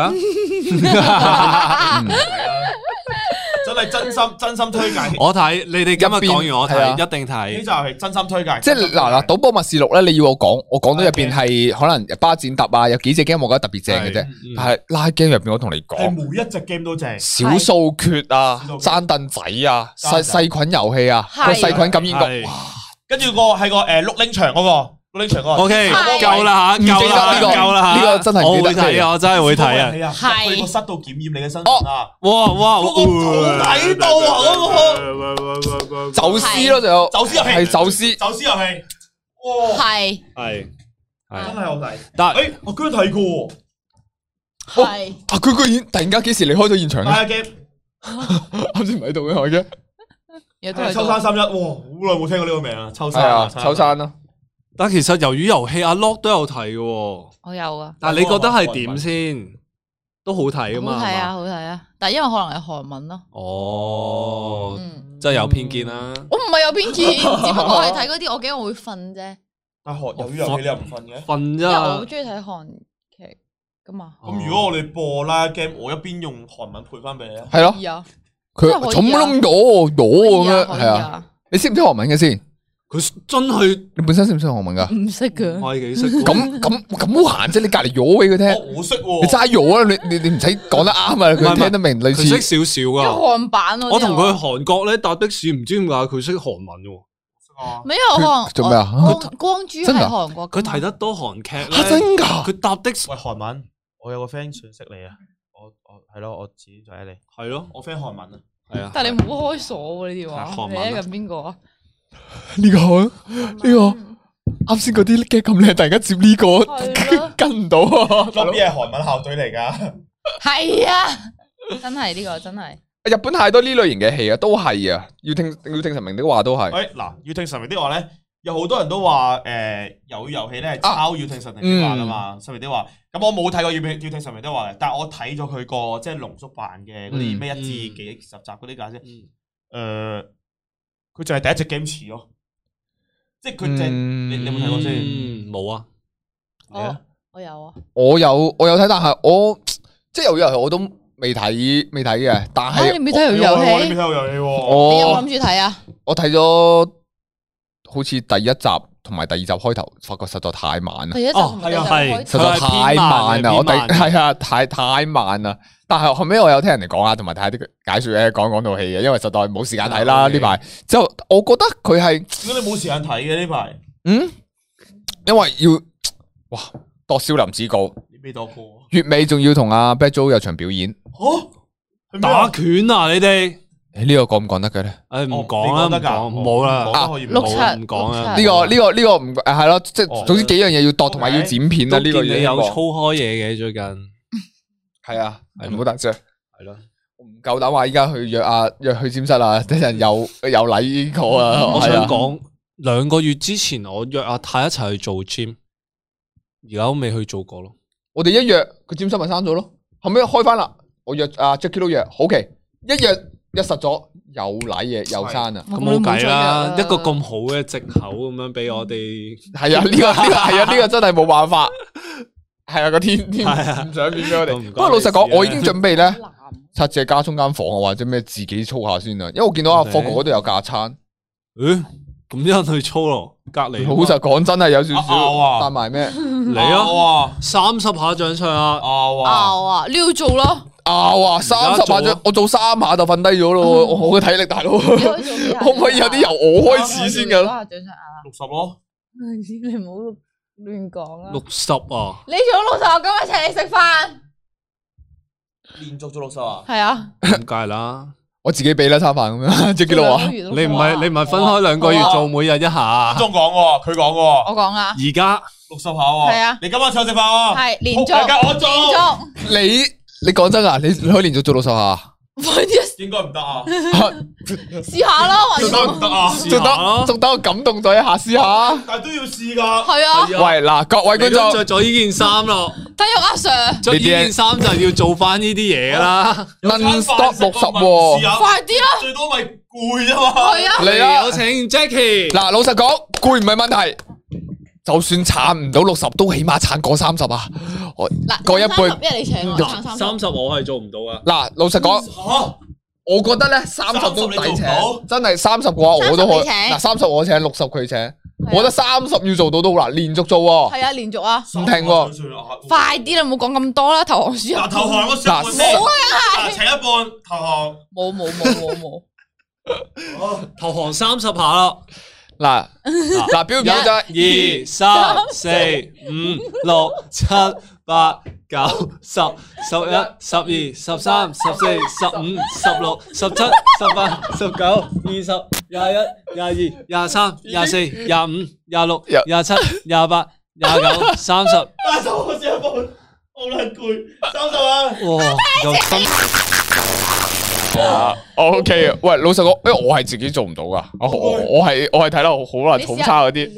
啊？ 真係真心真心推介。 我睇，你哋今日講完我係啊睇，一定欺睇。 詐遊戲真心推介。 即係嗱嗱，賭波默示錄咧，你要我講，我講到入邊係可能巴展特啊，有幾隻 game 我覺得特別正嘅啫係。 但係拉 game 入邊，我同你係講， 每一隻 game 都正。 小數決啊小數、決爭凳仔啊、細爭仔細菌遊戲啊、 係個細菌感染係局， 跟住個係個誒碌拎場嗰個碌拎場嗰個。 O K， 係夠啦吓， 唔記得夠啦， 呢個夠啦吓， 呢個真係唔我記得會睇啊，我真係會睇啊。 啊！ 係去個室度檢驗你嘅身份啊！ 哇哇， 嗰個好睇到啊嗰個走私咯，仲有走私遊戲係走私。 走私遊戲，哇！ 係係真係， 係好睇。 但誒，我居然睇過喎， 係啊！佢居然突然間幾時離開咗現場打嘅？ 下 game 啱先唔喺度嘅我嘅。 有都係秋山三一，哇！好耐冇聽過呢個名啊，秋山係啊，秋山咯。 但其實魷魚遊戲阿 Lock 都有睇嘅， 我有啊， 但係你覺得係點先？都好睇噶嘛？ 好睇啊， 係嘛好睇啊，但係因為可能係韓文咯， 哦， 嗯， 真係有偏見啦。 我唔係有偏見，只不過係睇嗰啲我驚我會瞓啫， 但係學魷魚遊戲你又唔瞓嘅？ 瞓因為我好啫， 中意睇韓劇噶嘛， 咁如果我哋播啦 game，我一邊用韓文配翻俾你啊！ 係咯可，以啊， 佢真係可以啊重冧咗，咗咁樣， 可以係啊。 啊， 你識唔識韓文嘅先？ 佢真係你本身識唔識韓文噶？ 唔識噶， 我係幾識喎。 咁咁咁好閒啫，你隔離咗俾佢聽。 哦我識喎， 你齋咗啊！你你你唔使講得啱啊！ 唔係佢聽得明類佢識似。 少少因為噶。 韓版我同佢去韓國咧搭的士，唔知點解佢識韓文嘅。 啊沒有韓做咩啊光光洙係真㗎韓國㗎嘛， 佢睇得多韓劇嚇咧， 真㗎？ 佢搭的士喂韓文，我有個 friend 想識你啊！我我係咯，我自己就喺你。 係咯， 我 friend 韓文啊， 係啊。 但係你冇開鎖喎呢啲話，你係韓文啊喺緊邊個啊？ 呢個呢個啱先嗰啲嘅咁靚，突然間接呢個係咯跟唔到啊！ Lobby 係韓文校隊嚟㗎。 係啊，真係呢個真係。 日本太多呢類型嘅戲啊，都係啊，要聽要聽神明的話都係。 喂，嗱，要聽神明的話咧，有好多人都話誒，魷魚遊戲咧係抄要聽神明的話噶嘛，神明的話。咁我冇睇過要聽要聽神明的話嘅，但係我睇咗佢個即係濃縮版嘅嗰啲咩一至幾十集嗰啲解釋。誒，佢就係第一隻 game 似咯，即係佢就係你你有冇睇過先？ 嗯，冇啊。 你啊我有啊， 我有我有睇，但係我即係魷魚遊戲我都未睇未睇嘅，但啊你係未睇魷魚遊你未睇戲？ 過遊戲喎？ 你有冇我諗住睇啊？ 我睇咗好似第一集同埋第二集開頭，發覺實在太慢啦第。一集同埋第二集係開實在太慢啦！我第係係啊，太太慢啦。但係後尾我有聽人哋講啊，同埋睇下啲解說咧，講講套戲嘅，因為實在冇時間睇啦啊呢排。之後我覺得佢係點解你冇時間睇嘅呢排？ 嗯，因為要哇度少林寺告， 你未度過？ 月尾仲要同阿 Bad Joe 有場表演。 嚇？ 打拳啊！你哋， 誒呢個講唔講得嘅咧？ 誒唔哦講啦，唔你講得㗎講，冇啦， 講得可以唔六七講冇唔講啊六七呢個呢個呢個唔誒係咯，即哦係總之幾樣嘢要度，同埋要剪片啦。 都呢個嘢見你有操開嘢嘅最近， 係啊， 係唔好得啫。 係咯。 我唔夠膽話依家去約阿約去占室啊！等陣又又嚟呢個啊！ 我係啊想講兩個月之前，我約阿泰一齊去做 gym，而家都未去做過咯。 我哋一約佢占室咪刪咗咯，後尾開翻啦。我約阿 Jackie 都約，好奇一約一實咗又舐嘢又生啊！ 咁冇計啦，一個咁好嘅藉口咁樣俾我哋。 係啊，呢個呢個係啊，呢個真係冇辦法。係啊，個天天唔想變俾我哋。不過老實講，我已經準備咧拆借加充間房啊，或者咩自己操下先啦。因為我見到阿霍哥嗰度有架撐。 誒，咁一陣去操咯，隔籬。 老實講，真係有少少帶埋咩？ 嚟啊！三十下掌上啊！ 拗啊！ 拗啊！你要做咯。 拗啊！三十下掌，我做三下就瞓低咗咯。我嘅體力大佬，可唔可以有啲由我開始先噶？ 六十咯。 你唔好亂講啊！ 六十啊！ 你做六十，我今日請你食飯。 連續做六十啊？ 係啊。 咁梗係啦。 我自己俾啦餐飯咁樣，即係幾多啊？ 你唔係你唔係分開兩個月做，每日一下。 鍾講喎，佢講喎。 我講啊。 而家六十下喎。係啊。 你今晚請我食飯喎。 係連續。 我做。 連續。 你你講真啊？你你可以連續做六十下？ 應該唔得啊。 試下啦， 仲得唔得啊？ 仲得仲等我感動咗一下試下。 但係都要試噶。 係啊。 喂嗱，各位觀眾着咗呢件衫咯。 睇下阿 Sir。 着呢件衫就要做翻呢啲嘢啦。 Non stop 六十喎。 快啲啦。 最多咪攰啊嘛。 係啊。 嚟啊！ 有請 Jackie。 嗱，老實講，攰唔係問題。就算撐唔到六十，都起碼撐過三十啊！我過一半， 因為你請我撐三三十，我係做唔到啊！ 嗱，老實講，我覺得咧三十都抵請，真係三十嘅話我都可以。嗱，三十我請，六十佢請，我覺得三十要做到都好難，連續做喎。 係啊，連續啊， 唔停喎。 快啲啦，唔好講咁多啦，投降輸入。 嗱，投降我上半冇啊， 請一半投降。 冇冇冇冇冇。 投降三十下啦。 嗱嗱，表唔表啫？ 二三四五六七八九十十一十二十三十四十五十六十七十八十九二十廿一廿二廿三廿四廿五廿六廿七廿八廿九三十。 三十我先一半，好撚攰。三十啊！ 哇，又分。 啊 ，OK 啊，喂，老實講，因為我係自己做唔到噶，我我我係我係睇得好難，好差嗰啲。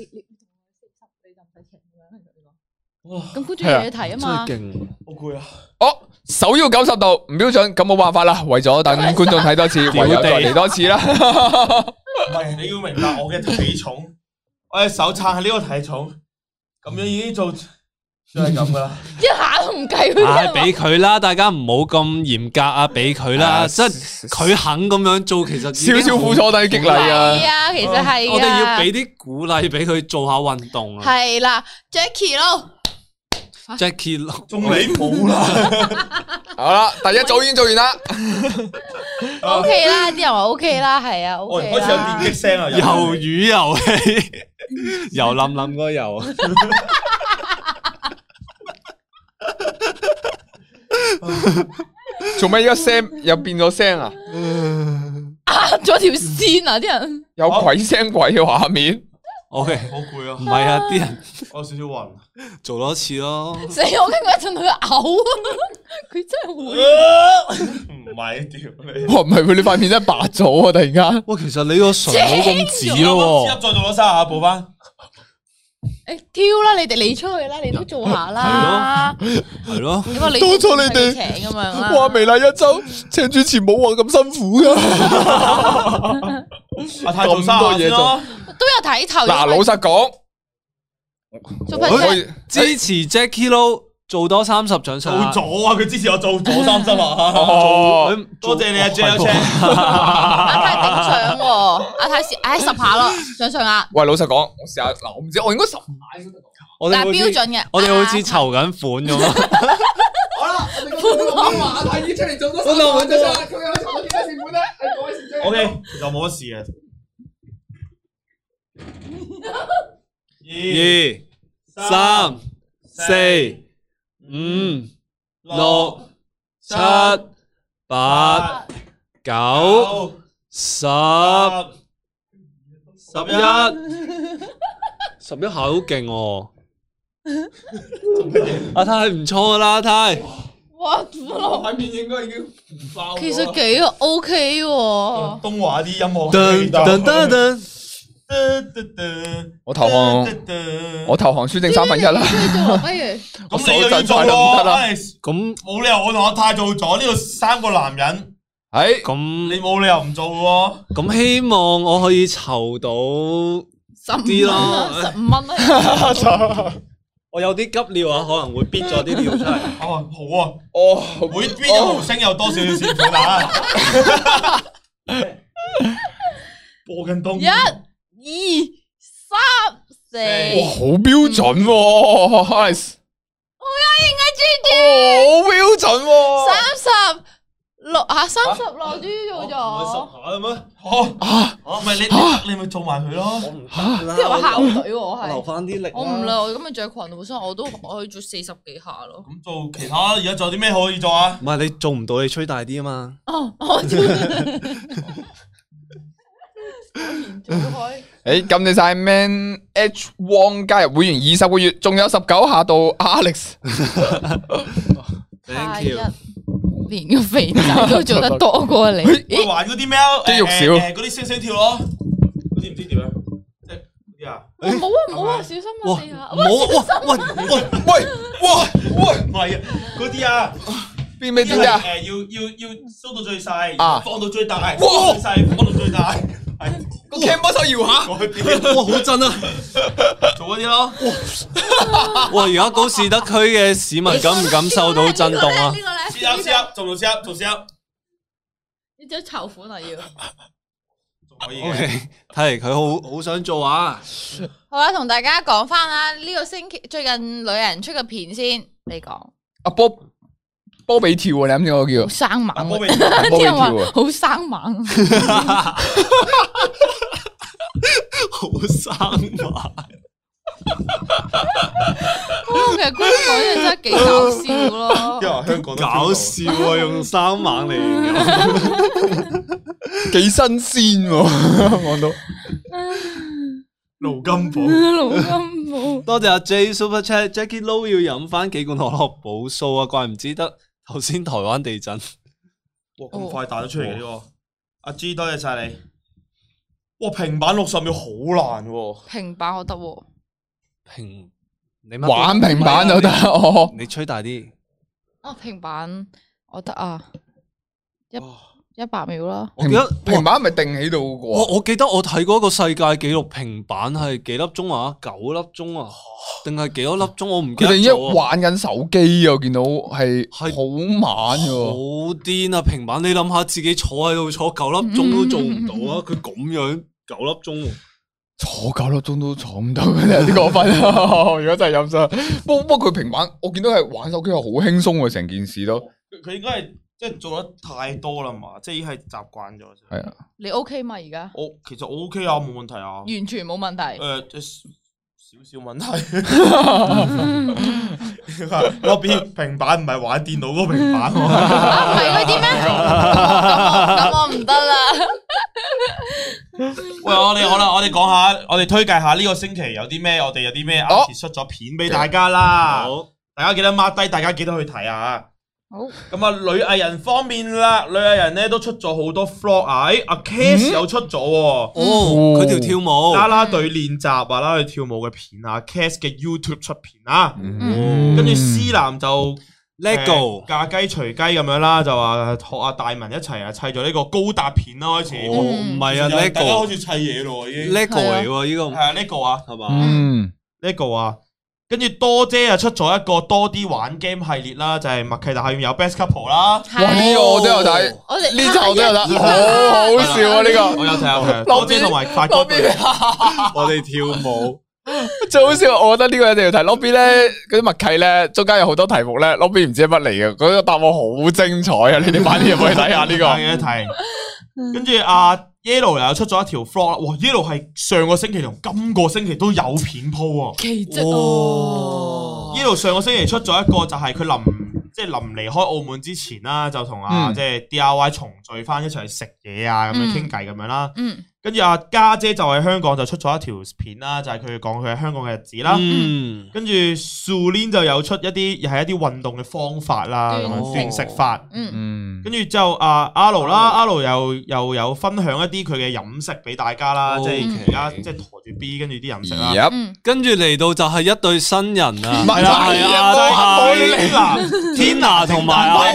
哇！咁觀眾有嘢睇啊嘛， 真係勁， 好攰啊！ 哦，手要九十度唔標準，咁冇辦法啦，為咗等觀眾睇多次，唯有再嚟多次啦。 唔係，你要明白我嘅體重，我嘅手撐係呢個體重，咁樣已經做。就係咁噶啦， 一下都唔計佢。 唉，俾佢啦，大家唔好咁嚴格啊，俾佢啦，即係佢肯咁樣做，其實少少苦楚都係激勵啊。 係啊，其實係。 我哋要俾啲鼓勵俾佢做下運動啊。 係啦 ，Jackie 咯 ，Jackie 咯， 仲你冇啦。 好啦，第一組已經做完啦。 O K 啦，啲人話 O K 啦，係啊，O K 啦。 開始有電擊聲啊， 魷魚遊戲，油冧冧個油。 做咩？而家聲又變咗聲啊！ 壓咗條線啊！啲人有鬼聲鬼嘅畫面。 O K， 好攰啊！ 唔係啊，啲人我有少少暈， 做多次咯。 死！我驚佢一陣佢嘔，佢真係會。 唔係屌你！ 哇，唔係佢，你塊面真係白咗啊！突然間， 哇，其實你個唇冇咁紫咯。 再做多三下補翻。 誒，挑啦！你哋你出去啦，你都做下啦。 係咯， 點解你多謝你哋請咁樣啦？ 哇，微辣一周請主持冇話咁辛苦噶。 阿泰做多嘢做， 都有睇頭。 嗱，老實講， 我支持 Jackie Lou 做多三十掌上。 做咗啊！佢支持我做咗三十啊！ 哦， 多謝你啊 J L 阿泰頂獎喎，阿泰試，唉十下咯，掌上壓。 喂，老實講，我試下嗱，我唔知，我應該十下應該得。 我哋但係標準嘅， 我哋好似籌緊款咁啊！ 好啦，我哋話阿泰已經出嚟做多三十掌上壓，佢有籌到幾多錢款咧？係改善啫。 O K，其實冇乜事二、 嘅。 三、四、五、六、七、八、九、十、十一、十一下好勁喎！阿泰唔錯啦，阿泰。 哇！ 塊面應該已經唔爆。 其實幾 OK 喎。 東華啲音樂。 噔噔噔噔。 我投降，我投降，輸剩三分一啦。 不如咁你又要做喎？ 咁冇理由我同阿泰做咗呢度三個男人， 係咁你冇理由唔做喎。 咁希望我可以籌到啲咯， 十五蚊啦。 我有啲急尿啊，可能會逼咗啲尿出嚟。 哦，好啊， 哦， 每邊一毫升有多少少錢款啊？播緊東。 一、二、三、四。 哇，好標準喎 ，nice。 好有型啊 ，G 好標準喎。 三十六啊，三十六 G 做咗。 下啦咩？ 哦啊，唔係你你咪做埋佢咯。 我唔得啦， 即係話校隊喎，我留係。 翻啲力。 我唔啦，我今日着裙本身我都我可以做四十幾下咯。 咁做其他而家仲有啲咩可以做啊？ 唔係你做唔到，你吹大啲啊嘛。 哦，我做。做開。 誒，感謝晒 Man H Wong 加入會員二十個月，仲有十九下到 Alex。 下 Thank 一 you。 連個肥仔都做得多過你。 喂玩嗰啲咩啊？ 肌肉少誒誒嗰啲星星跳咯，嗰啲唔知點樣，即係嗰啲啊。 哦冇啊冇啊，小心啊哇！ 地下。 冇哇喂喂喂，哇，喂， 唔係啊，嗰啲啊， 邊咩啲啊？ 誒要要要縮到最細， 啊放到最大， 哇縮最細，放到最大，係個 cam 幫手搖下。 嗰啲， 哇好震啊！ 做嗰啲咯。 哇！而家高士德區嘅市民感唔感受到震動啊？ 呢個咧， 試下試下，做做試下，做試下， 你隻籌款啊要。 仲可以 O 嘅。 K，睇嚟佢好好想做啊！ 好啦，同大家講翻啦，呢個星期最近女人出嘅片先，你講。 阿波波比跳啊！你啱先嗰個好叫生猛啊， 波比波比啲人話跳啊！ 好生猛。 好生猛。 哦，其實嗰啲講嘢真係幾搞笑咯。 因為香港都搞笑啊！用生猛嚟形容。 幾新鮮喎，講到盧金寶。 盧金寶。 多謝阿 J Super Chat，Jackie Lou 要飲翻幾罐可樂補數啊！怪唔知得頭先台灣地震。 哇，咁快彈咗出嚟嘅呢個。阿 G 多謝晒你。哇，平板六十秒好難喎。 平板我得喎。 平你乜玩平板就得哦。 你吹大啲。 啊，平板我得啊，一一百秒啦。 我記得平板係咪定喺度我嘅？ 我記得我睇過一個世界紀錄，平板係幾粒鐘啊？九粒鐘啊？定係幾多粒鐘？我唔記得佢哋一咗啊。 玩緊手機啊，我見到係係好慢好嘅。 癲啊！平板，你諗下自己坐喺度坐九粒鐘都做唔到啊！佢咁樣九粒鐘喎。 坐九粒鐘都坐唔到嘅，有啲過分啊！如果真係飲晒，不過不過佢平板，我見到係玩手機係好輕鬆嘅，成件事都佢佢應該係即係做得太多啦嘛，即係已經係習慣咗。 係啊。 你 OK 嘛？而家我其實我 OK 啊，冇問題啊。 完全冇問題。 誒，即係少少問題。嗰邊平板唔係玩電腦嗰個平板喎。 啊，唔係嗰啲咩？咁我咁我唔得啦。 喂，我哋好啦，我哋講下，我哋推介下呢個星期有啲咩，我哋有啲咩 artist 出咗片俾大家啦。 好， 大家記得 mark 低，大家記得去睇啊。 好。 咁啊，女藝人方面啦，女藝人咧都出咗好多 vlog 啊。誒，阿 Cass 又出咗喎， 哦，佢條跳舞， 啦啦隊練習啊，啦啦隊跳舞嘅片啊 ，Cass 嘅 YouTube 出片啊。 嗯跟住思南就 Lego 嫁雞隨雞咁樣啦，就話學阿大文一齊啊砌咗呢個高達片啦，開始。 哦，唔係啊大家開 ，Lego 始砌嘢咯，已經。 Lego 嚟喎，呢個係啊，Lego 啊係嘛？ 嗯， ，Lego 啊。跟住多姐啊出咗一個多啲玩 game 系列啦，就係默契大下面有 Best Couple 啦。 哇！呢個我都有睇， 我哋呢集我都有睇，好好笑啊！呢個我有睇有睇，多姐同埋發哥對。 我哋跳舞， 最好笑，我覺得呢個一定要睇。Lobby 咧嗰啲默契咧，中間有好多題目咧，Lobby 唔知係乜嚟嘅，嗰個答案好精彩啊！你哋快啲入去睇下呢個。 睇一睇。跟住阿 Yellow 又出咗一條 vlog，哇 Yellow 係上個星期同今個星期都有片鋪啊。 奇蹟哦。 Yellow 上個星期出咗一個就係佢臨即係臨離開澳門之前啦，就同阿嗯即係 D I Y 重聚翻一齊去食嘢啊，咁樣傾偈咁樣啦。 嗯。 跟住阿家姐就喺香港就出咗一條片啦，就係佢講佢喺香港嘅日子啦。 嗯， 跟住 Sulin 就有出一啲又係一啲運動嘅方法啦，咁樣斷食法。 嗯。 嗯， 跟住之後阿阿盧啦，阿盧又又有分享一啲佢嘅飲食俾大家啦，即係而家即係陀住 B 跟住啲飲食啦。 入嗯。 跟住嚟到就係一對新人啊， 係係啊， 啊係啊，Tina 同埋阿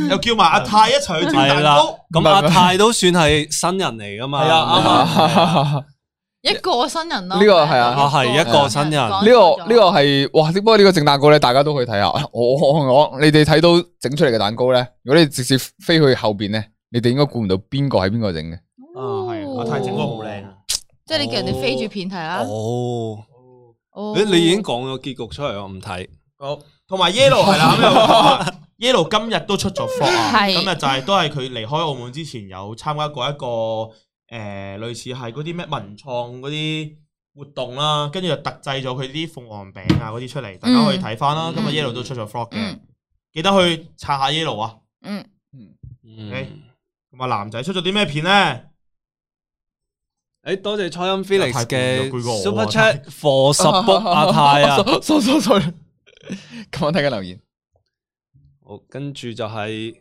又叫埋阿泰一齊去整蛋糕。 咁阿泰都算係新人嚟噶嘛？ 係啊， 一個新人咯。 呢個係啊， 係一個新人。 呢個呢個係哇！不過呢個整蛋糕咧，大家都可以睇下。我我你哋睇到整出嚟嘅蛋糕咧，如果你直接飛去後邊咧，你哋應該估唔到邊個係邊個整嘅。 啊，係阿泰整個好靚啊！ 即係你叫人哋飛住片睇啦。 哦，你你已經講咗結局出嚟，我唔睇。 好，同埋 Yellow 係啦，Yellow 今日都出咗 vlog 啊， 係今日就係都係佢離開澳門之前有參加過一個誒類似係嗰啲咩文創嗰啲活動啦，跟住就特製咗佢啲鳳凰餅啊嗰啲出嚟，大家可以睇翻啦。今日 Yellow 都出咗 vlog 嘅，記得去刷下 Yellow 啊。 嗯嗯。咁啊，男仔出咗啲咩片咧？ 誒，多謝初音 Felix 嘅嘅 Super Chat for support 阿泰啊。 sorry sorry sorry。咁我睇緊留言。 好，跟住就係，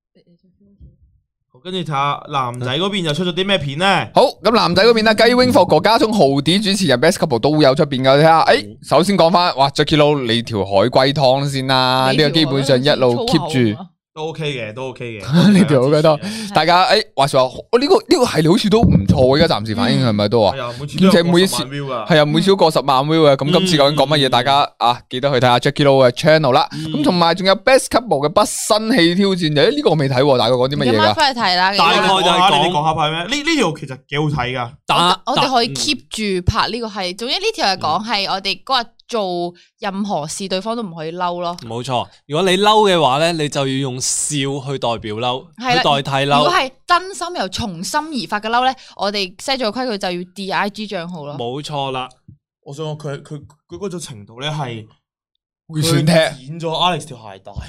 跟住睇下男仔嗰邊又出咗啲咩片咧？ 好，咁男仔嗰邊咧，雞 wing 霍哥加聰豪啲主持人 Best Couple 都有出邊噶，睇下。誒，首先講翻，哇 Jacky Lou 你條海龜湯先啦，呢個基本上一路 keep 住。 都 OK 嘅，都 OK 嘅。 呢條好覺得，大家誒話說話，我呢個呢個系列好似都唔錯，而家暫時反應係咪都話？ 係啊，每次都有過十萬 view 噶。 係啊，每次都過十萬 view 啊。咁今次究竟講乜嘢？大家啊記得去睇下 Jacky Lou 嘅 channel 啦。咁同埋仲有 Best Couple 嘅不生氣挑戰，誒呢個我未睇，大概講啲乜嘢噶？ 翻去睇啦。 大概就係你哋講下拍咩？呢呢條其實幾好睇噶。 我哋可以 keep 住拍呢個係，總之呢條係講係我哋嗰日做任何事，對方都唔可以嬲咯。 冇錯，如果你嬲嘅話咧，你就要用笑去代表嬲，去代替嬲。 如果係真心由從心而發嘅嬲咧，我哋 set 咗個規矩就要 D I G 賬號咯。 冇錯啦， 我想講佢佢佢嗰種程度咧係會算踢剪咗 Alex 條鞋帶，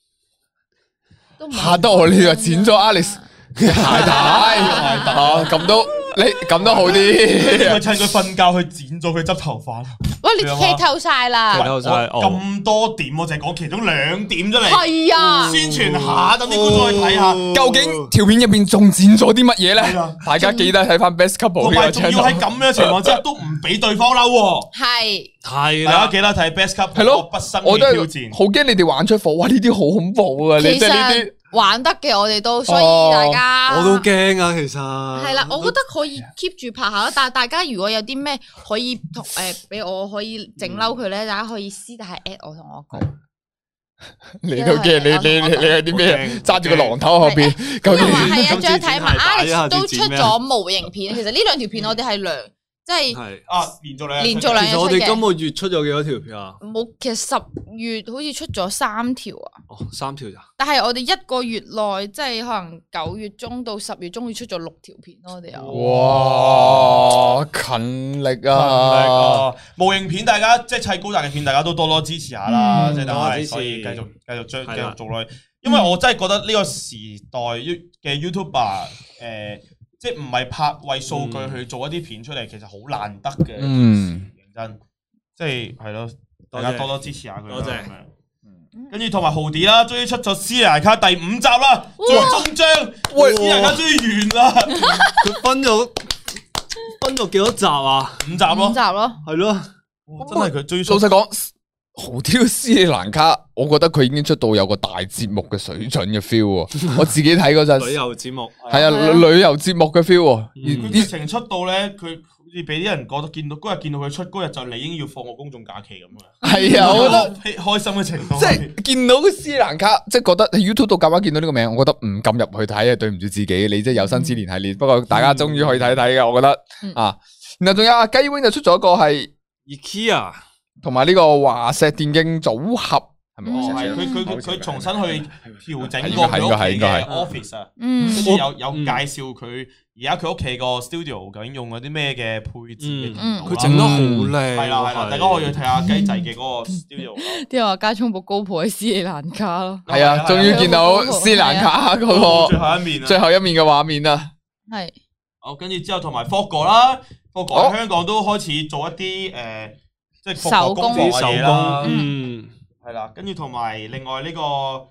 嚇得我呢個剪咗 Alex 鞋帶，哦咁都。你咁都好啲， 佢趁佢瞓覺去剪咗佢執頭髮。 喂，你劇透晒啦！ 劇透晒咁多點，我淨係講其中兩點出嚟。 係啊， 宣傳下，等啲觀眾去睇下， 究竟條片入邊仲剪咗啲乜嘢咧？大家記得睇翻 Best Couple 同埋仲要喺咁樣情況之下都唔俾對方嬲。 係係， 大家記得睇 Best Couple 係咯， 不生我都氣挑戰。 好驚你哋玩出火，哇！呢啲好恐怖啊！你即係呢啲。 玩得嘅我哋都，所以大家我都驚啊，其實係啦，我覺得可以 keep 住拍下，但係大家如果有啲咩可以同誒俾我可以整嬲佢咧，大家可以私底下 at 我同我講。 你都驚你你你你係啲咩？揸住個榔頭後邊，究竟係啊，仲有睇埋 Alex 都出咗模型片，其實呢兩條片我哋係兩。即係啊，連續兩連續兩日出嘅。 其實我哋今個月出咗幾多條片啊？ 冇，其實十月好似出咗三條啊。 哦，三條咋？ 但係我哋一個月內，即係可能九月中到十月中，會出咗六條片咯。我哋有。 哇，勤力啊！ 模型片大家即係砌高達嘅片，大家都多多支持下啦。即係大家可以繼續繼續將繼續做落去。因為我真係覺得呢個時代嘅 YouTuber 誒。即係唔係拍為數據去做一啲片出嚟，其實好難得嘅。嗯，認真，即係係咯，大家多多支持下佢。多謝。跟住同埋豪迪啦，終於出咗斯里蘭卡第五集啦，終章。喂，斯里蘭卡終於完啦。 佢分咗分咗幾多集啊？ 五集咯。 五集咯。 係咯。 真係佢追。 老實講，豪迪斯里蘭卡，我覺得佢已經出到有個大節目嘅水準嘅 feel。我自己睇嗰陣， 旅遊節目係啊，旅遊節目嘅 feel。 佢直情出到咧，佢好似俾啲人覺得見到嗰日見到佢出嗰日就理應要放個公眾假期咁啊。係啊，我覺得開心嘅程度。 即係見到斯里蘭卡，即係覺得喺 YouTube 度咁啱見到呢個名，我覺得唔撳入去睇啊，對唔住自己。你即係有生之年系列，不過大家終於可以睇睇嘅，我覺得啊。然後仲有阿雞 wing 就出咗一個係 IKEA。同埋呢個華碩電競組合係咪？ 哦，係佢佢佢重新去調整過佢屋企嘅 office 啊，跟住有有介紹佢而家佢屋企個 studio 究竟用嗰啲咩嘅配置， 佢整得好靚。 係啦係啦，大家可以去睇下雞仔嘅嗰個 studio。 啲人話加聰部高普喺斯里蘭卡咯， 係啊，終於見到斯里蘭卡嗰個最後一面最後一面嘅畫面啦。 係， 好，跟住之後同埋 Fogo 啦，Fogo 喺香港都開始做一啲誒。即係手工嘅嘢啦，嗯，係啦，跟住同埋另外呢個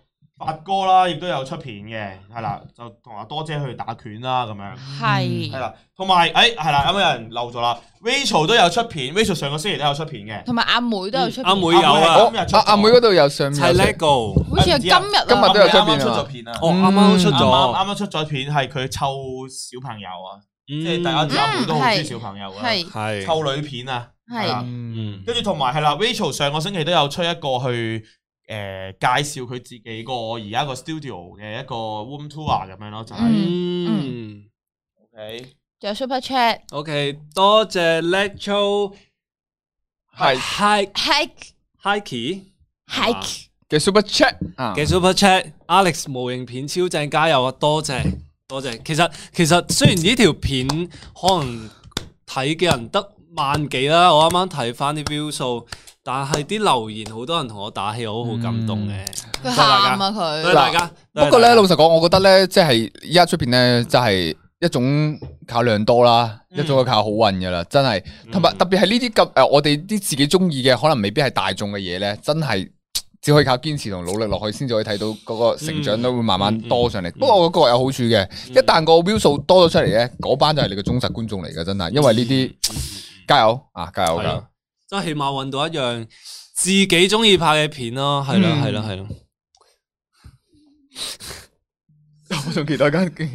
發哥啦，亦都有出片嘅，係啦，就同阿多姐去打拳啦，咁樣係係啦，同埋誒係啦，啱啱有人漏咗啦 ，Rachel 都有出片 ，Rachel 上個星期都有出片嘅， 同埋阿妹都有出片， 阿妹有啊， 阿阿妹嗰度有上面係 LEGO， 好似係今日今日都有出啱啱出咗片啊， 片啊， 哦啱啱出啱啱咗， 啱啱出咗片係佢湊小朋友啊， 即即係大家知阿妹都好中意小朋友啊， 係係湊女片啊，係啦， 嗯跟住同埋係啦 ，Rachel 上個星期都有出一個去。誒、呃、介紹佢自己個而家個 studio 嘅一個 room tour 咁樣咯，就係、是、 嗯 OK， 仲有 super chat，OK，、 okay, 多謝 Letro 係 Hike Hike Hike Hike 嘅 super chat 啊嘅 super chat，Alex 模型片超正，加油啊！多謝多謝。其實其實雖然呢條片可能睇嘅人得萬幾啦，我啱啱睇翻啲 view 數。但係啲留言好多人同我打氣，我好感動嘅。 佢喊啊佢。 多謝大家。 不過咧，老實講，我覺得咧，即係依家出邊咧，就係一種靠量多啦，一種係靠好運噶啦，真係。同埋特別係呢啲咁誒，我哋啲自己中意嘅，可能未必係大眾嘅嘢咧，真係只可以靠堅持同努力落去，先至可以睇到嗰個成長都會慢慢多上嚟。不過我覺得各有好處嘅，一旦個 view 數多咗出嚟咧，嗰班就係你嘅忠實觀眾嚟嘅，真係。因為呢啲加油啊，加油加油！ 即係起碼揾到一樣自己中意拍嘅片咯，係咯係咯係咯。 我仲期待緊。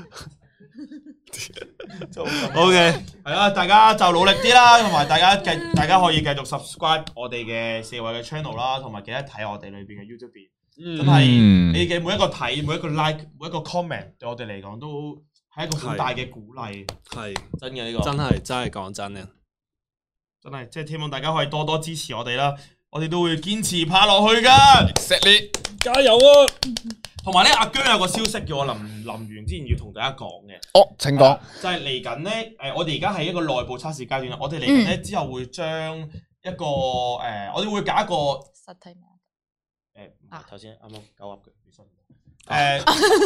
O K， 係啦，大家就努力啲啦，同埋大家繼大家可以繼續 subscribe 我哋嘅四位嘅 channel 啦，同埋記得睇我哋裏邊嘅 YouTube 片。 嗯、 真係你嘅每一個睇，每一個 like，每一個 comment，對我哋嚟講都係一個好大嘅鼓勵。係真嘅呢、這個， 真係真係講真嘅。 真係，即係希望大家可以多多支持我哋啦，我哋都會堅持拍落去噶。 錫你， 加油啊！ 同埋咧，阿姜有個消息叫我臨臨完之前要同大家講嘅。 哦，請講。 就係嚟緊咧，誒，我哋而家係一個內部測試階段啦。我哋嚟緊咧之後會將一個誒、呃，我哋會搞一個實體碼。 誒，頭先啱啱搞噏嘅，誒，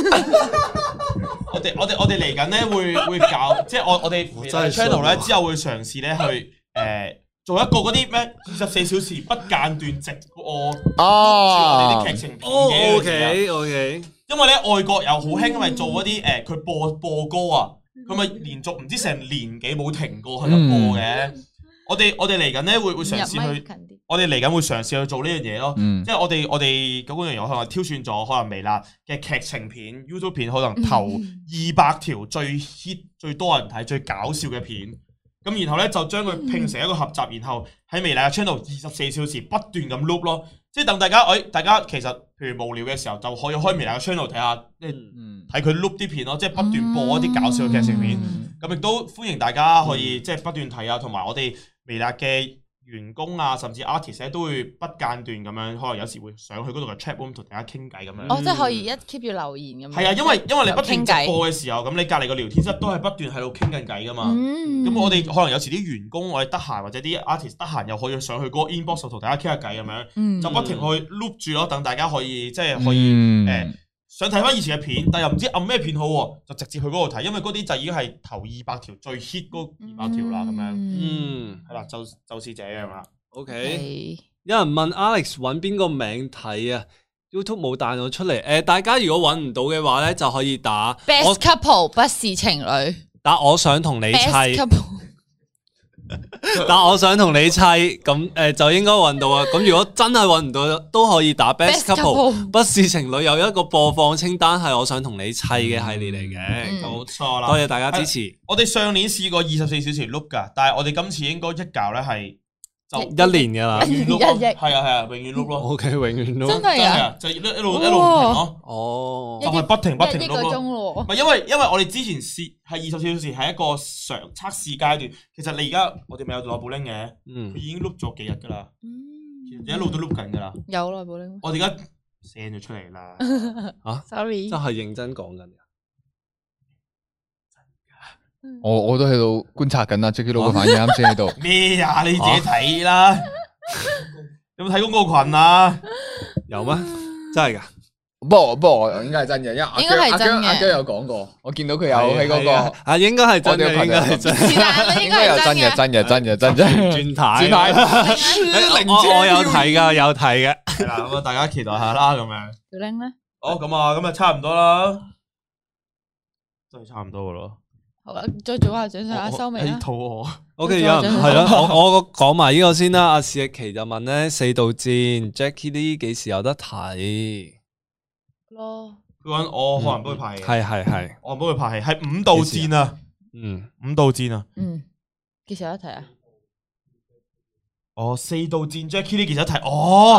我哋我哋我哋嚟緊咧會會搞，即係我我哋 channel 咧之後會嘗試咧去。誒，做一個嗰啲咩二十四小時不間斷直播，錄住我哋啲劇情片嘅。 O K O K， 因為咧外國又好興，因為做嗰啲誒，佢播播歌啊，佢咪連續唔知成年幾冇停過喺度播嘅。我哋我哋嚟緊咧會會嘗試去，我哋嚟緊會嘗試去做呢樣嘢咯。即係我哋我哋嗰個樣嘢可能挑選咗可能微辣嘅劇情片、YouTube 片，可能頭二百條最 hit、最多人睇、最搞笑嘅片。咁然後咧就將佢拼成一個合集，然後喺微辣嘅 channel 二十四小時不斷咁 loop 咯，即係等大家，誒、哎，大家其實譬如無聊嘅時候就可以開微辣嘅 channel 睇下，即係睇佢 loop 啲片咯，即係不斷播一啲搞笑嘅劇情片。咁亦、嗯、都歡迎大家可以即係不斷睇啊，同埋我哋微辣嘅員工啊，甚至 artist 咧都會不間斷咁樣，可能有時會上去嗰度嘅 chat room 同大家傾偈咁樣。 哦，即係可以一 keep 住留言咁樣。係啊，因為因為你不斷直播嘅時候，咁你隔離個聊天室都係不斷喺度傾緊偈噶嘛。咁、嗯、我哋可能有時啲員工我哋得閒，或者啲 artist 得閒，又可以上去嗰個 inbox 同大家傾下偈咁樣，嗯、就不停去 loop 住咯，等大家可以即係可以誒。嗯呃想睇翻以前嘅片，但又唔知按咩片好，就直接去嗰度睇，因為嗰啲就已經係頭二百條最 hit 嗰二百條啦，咁樣，嗯，係啦，就就是這樣啦。 OK，, okay. 有人問 Alex 揾邊個名睇啊 ？YouTube 冇彈到出嚟，誒、呃，大家如果揾唔到嘅話咧，就可以打 Best Couple 不是情侶， 打我想同你砌。但我想同你砌，咁誒、呃、就應該揾到啊！咁如果真係揾唔到，都可以打 Best Couple，不是情侶有一個播放清單係我想同你砌嘅系列嚟嘅， 冇錯啦！ 多謝大家支持。 我哋上年試過二十四小時 loop 噶，但係我哋今次應該一搞咧係就一年噶啦， 永遠 loop 咯，係啊係啊，永遠 loop 咯。 O K， 永遠 loop， 真係啊， 就一一路一路唔停咯。 哦， 就係不停不停 loop 咯。 唔係因為因為我哋之前試係二十四小時係一個常測試階段，其實你而家我哋咪有內部拎嘅，佢已經 loop 咗幾日噶啦，其實一路都 loop 緊噶啦。 有內部拎。 我哋而家 send 咗出嚟啦。 啊 ，sorry， 真係認真講緊。 我我都喺度觀察緊啦 ，Jacky 佬嘅反應啱先喺度。 咩啊？你自己睇啦。有冇睇公告群啊？ 有咩？真係噶？ 不過不過應該係真嘅，因為阿姜阿姜阿姜有講過，我見到佢有喺嗰個啊，應該係真嘅，應該係真， 應該有真嘅，真嘅，真嘅，真嘅。 轉態， 轉態。 我我有睇噶，有睇嘅。 係啦，咁啊，大家期待下啦，咁樣。 小玲咧？ 好咁啊，咁啊差唔多啦，真係差唔多噶咯。 好啦，再做下掌上壓收尾啦。 肚餓。 O K， 有人係啦，我我講埋呢個先啦。阿史逸奇就問咧四道戰 Jackie 呢幾時有得睇？ 咯， 佢揾我可能幫佢拍戲， 係係係， 我幫佢拍戲，係五道戰啊， 嗯， 五道戰啊。 嗯，幾時有得睇啊？ 哦，四道戰 Jackie 呢幾時有得睇？哦，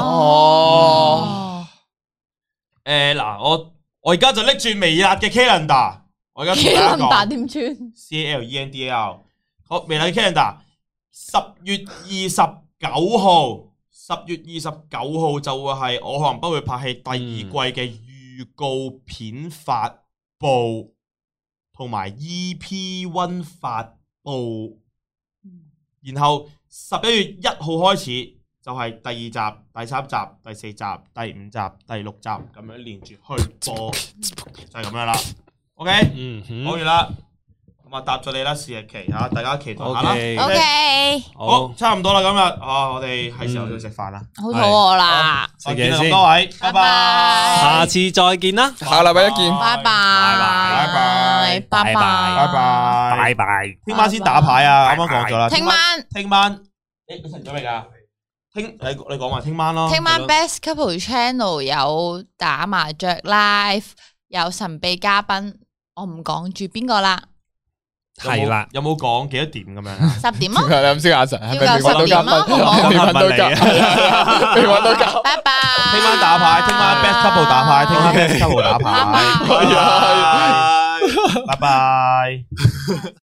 哦， 誒嗱，我我而家就拎住微辣嘅 calendar。我而家同大家講點穿 C A L E N D A R， 好微辣嘅 calendar， 十月二十九號，十月二十九號就會係我可能不會拍戲第二季嘅預告片發布，同埋 E P 一 發布，然後十一月一號開始就係第二集、第三集、第四集、第五集、第六集咁樣連住去播，就係咁樣啦。OK， 嗯哼， 講完啦，咁啊答咗你啦，史逸奇吓，大家期待下啦。 ？OK， 好，差唔多啦，今日啊，我哋係時候要食飯啦， 好肚餓啦， 再見食嘢先咁多位，拜拜拜拜， 下次再見啦。 下禮拜一見。 拜拜， 拜拜拜拜， 拜拜， 拜拜。 聽晚先打牌啊，啱啱講咗啦， 聽晚聽晚，誒，你食咗未㗎？聽你你講埋聽晚咯， 聽晚 Best Couple Channel 有打麻雀 live，有神秘嘉賓，我唔講住邊個啦， 係啦， 有冇講幾多點咁樣？ 十點咯， 你咁先眼神，係咪未揾到嘉賓？ 要夠十點咯未揾到嘉，未揾到嘉。 拜拜。 聽晚打牌，聽晚 Best Couple 打牌，聽晚 Best Couple 打牌， 拜拜拜拜，拜拜。